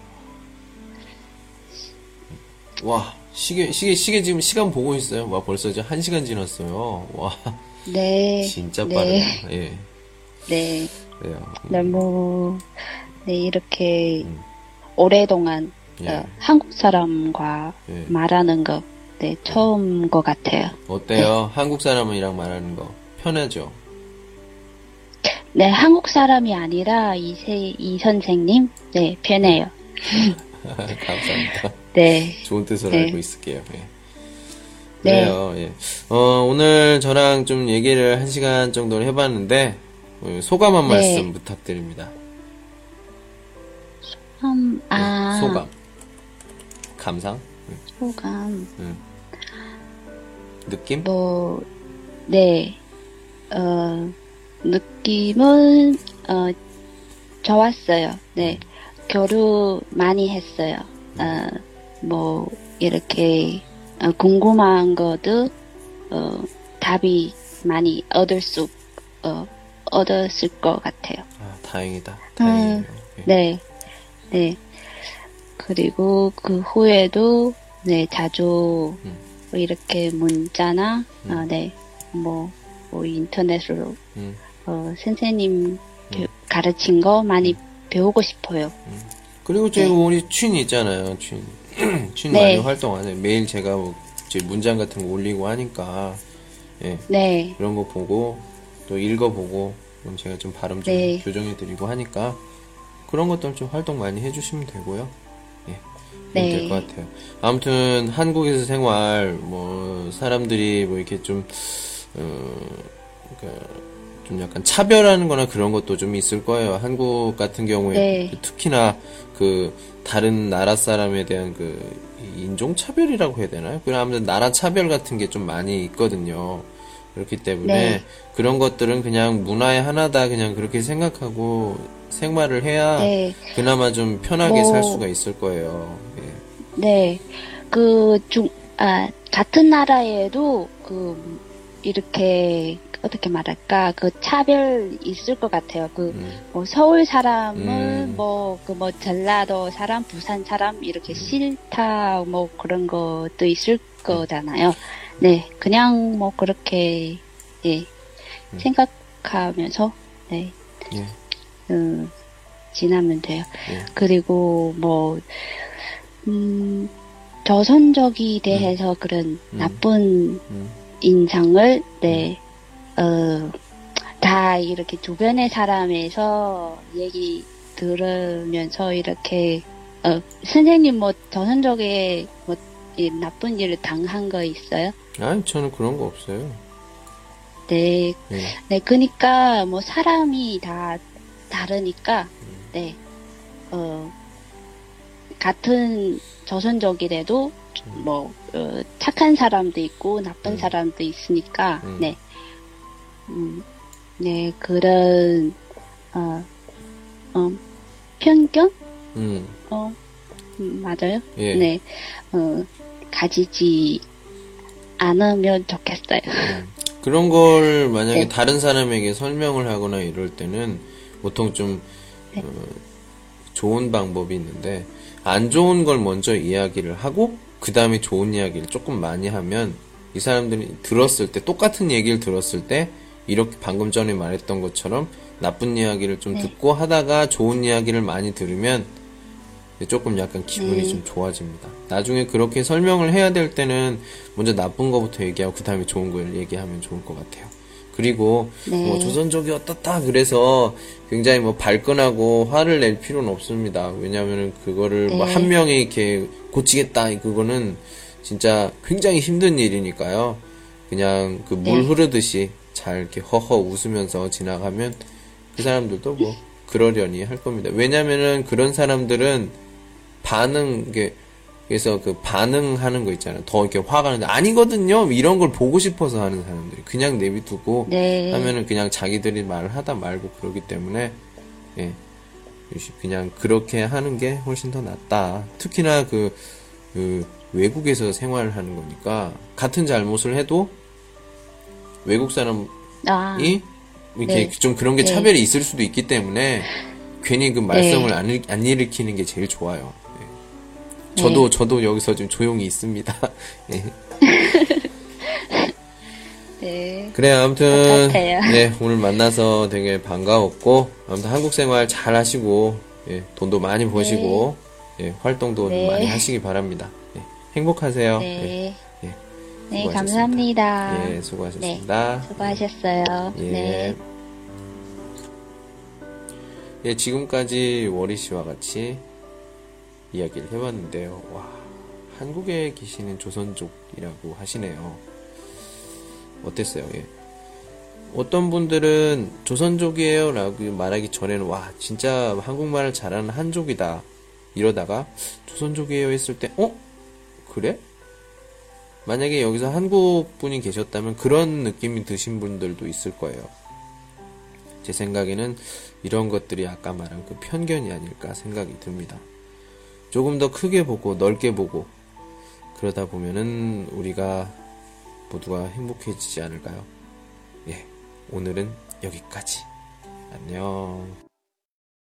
와, 시계 지금 시간 보고 있어요. 와, 벌써 이제 1시간 지났어요. 와. 네. 진짜 빠르네요. 예. 네. 그래요. 너무, 네, 이렇게, 오랫동안, 예. 한국 사람과 예. 말하는 거, 네, 처음 것 같아요. 어때요? 한국 사람이랑 말하는 거 편하죠? 네, 한국 사람이 아니라 이 선생님, 네, 편해요. 감사합니다. 네. 좋은 뜻으로 네. 알고 있을게요. 예. 네. 그래요. 예. 오늘 저랑 좀 얘기를 1시간 정도 해봤는데 소감 한 말씀 부탁드립니다. 소감. 감상. 소감. 느낌? 뭐, 네, 느낌은, 좋았어요. 네, 교류 많이 했어요. 뭐, 이렇게, 궁금한 것도, 답이 많이 얻었을 것 같아요. 아, 다행이다. 다행이에요. 예. 네, 네. 그리고 그 후에도, 네, 자주, 이렇게 문자나, 네, 뭐 인터넷으로, 선생님 가르친 거 많이 배우고 싶어요. 그리고 저희 우리 춘 있잖아요. 춘 네. 많이 활동하네. 매일 제가 뭐 제 문장 같은 거 올리고 하니까, 예. 네, 그런 거 보고 또 읽어보고 그럼 제가 좀 발음 좀 네. 교정해드리고 하니까 그런 것들 좀 활동 많이 해주시면 되고요. 예. 네. 될 것 같아요. 아무튼 한국에서 생활 뭐 사람들이 뭐 이렇게 좀 그러니까 좀 약간 차별하는 거나 그런 것도 좀 있을 거예요. 한국 같은 경우에 네. 특히나 그 다른 나라 사람에 대한 그 인종 차별이라고 해야 되나요? 그냥 아무튼 나라 차별 같은 게 좀 많이 있거든요. 그렇기 때문에 네. 그런 것들은 그냥 문화의 하나다 그냥 그렇게 생각하고 생활을 해야 네. 그나마 좀 편하게 뭐, 살 수가 있을 거예요. 예. 네. 같은 나라에도 이렇게, 어떻게 말할까, 차별 있을 것 같아요. 뭐, 서울 사람은, 전라도 사람, 부산 사람, 이렇게 싫다, 뭐, 그런 것도 있을 거잖아요. 네. 그냥 뭐, 그렇게, 예, 생각하면서, 네. 예. 지나면 돼요. 예. 그리고 뭐, 조선족이 대해서 그런 나쁜 인상을, 네, 다 이렇게 주변의 사람에서 얘기 들으면서 이렇게, 선생님 뭐 조선족에 뭐 이 나쁜 일을 당한 거 있어요? 아니, 저는 그런 거 없어요. 네. 예. 네, 그니까 뭐 사람이 다 다르니까, 네, 같은 조선족이라도 뭐 착한 사람도 있고 나쁜 사람도 있으니까, 네, 네 그런 편견, 맞아요. 예. 네, 가지지 않으면 좋겠어요. 그런 걸 만약에 네. 다른 사람에게 설명을 하거나 이럴 때는 보통 좀 좋은 방법이 있는데 안 좋은 걸 먼저 이야기를 하고 그 다음에 좋은 이야기를 조금 많이 하면 이 사람들이 들었을 때 똑같은 얘기를 들었을 때 이렇게 방금 전에 말했던 것처럼 나쁜 이야기를 좀 듣고 하다가 좋은 이야기를 많이 들으면 조금 약간 기분이 좀 좋아집니다. 나중에 그렇게 설명을 해야 될 때는 먼저 나쁜 거부터 얘기하고 그 다음에 좋은 걸 얘기하면 좋을 것 같아요. 그리고 뭐 조선족이 어떻다 그래서 굉장히 뭐 발끈하고 화를 낼 필요는 없습니다. 왜냐하면 그거를 뭐 한 명이 이렇게 고치겠다 그거는 진짜 굉장히 힘든 일이니까요. 그냥 그 물 흐르듯이 잘 이렇게 허허 웃으면서 지나가면 그 사람들도 뭐 그러려니 할 겁니다. 왜냐면은 그런 사람들은 그래서 그 반응하는 거 있잖아요. 더 이렇게 화가 나는데 아니거든요. 이런 걸 보고 싶어서 하는 사람들이 그냥 내비두고 하면은 그냥 자기들이 말을 하다 말고 그러기 때문에 예. 그냥 그렇게 하는 게 훨씬 더 낫다. 특히나 그 외국에서 생활을 하는 거니까 같은 잘못을 해도 외국 사람이 아, 이렇게 네. 좀 그런 게 네. 차별이 있을 수도 있기 때문에 괜히 그 말썽을 안 일으키는 게 제일 좋아요. 예. 저도 여기서 좀 조용히 있습니다. 예. 네. 그래, 아무튼, 똑같아요. 네, 오늘 만나서 되게 반가웠고, 아무튼 한국 생활 잘 하시고, 예, 돈도 많이 버시고, 예, 활동도 네. 많이 하시기 바랍니다. 예, 행복하세요. 네. 예, 예, 네, 수고하셨습니다. 감사합니다. 예, 수고하셨습니다. 네, 수고하셨어요. 예. 네. 예, 지금까지 워리 씨와 같이 이야기를 해봤는데요. 와, 한국에 계시는 조선족이라고 하시네요. 어땠어요? 예. 어떤 분들은 조선족이에요 라고 말하기 전에는 와, 진짜 한국말을 잘하는 한족이다. 이러다가 조선족이에요 했을 때, 그래? 만약에 여기서 한국 분이 계셨다면 그런 느낌이 드신 분들도 있을 거예요. 제 생각에는 이런 것들이 아까 말한 그 편견이 아닐까 생각이 듭니다. 조금 더 크게 보고 넓게 보고 그러다 보면은 우리가 모두가 행복해지지 않을까요? 예, 오늘은 여기까지. 안녕.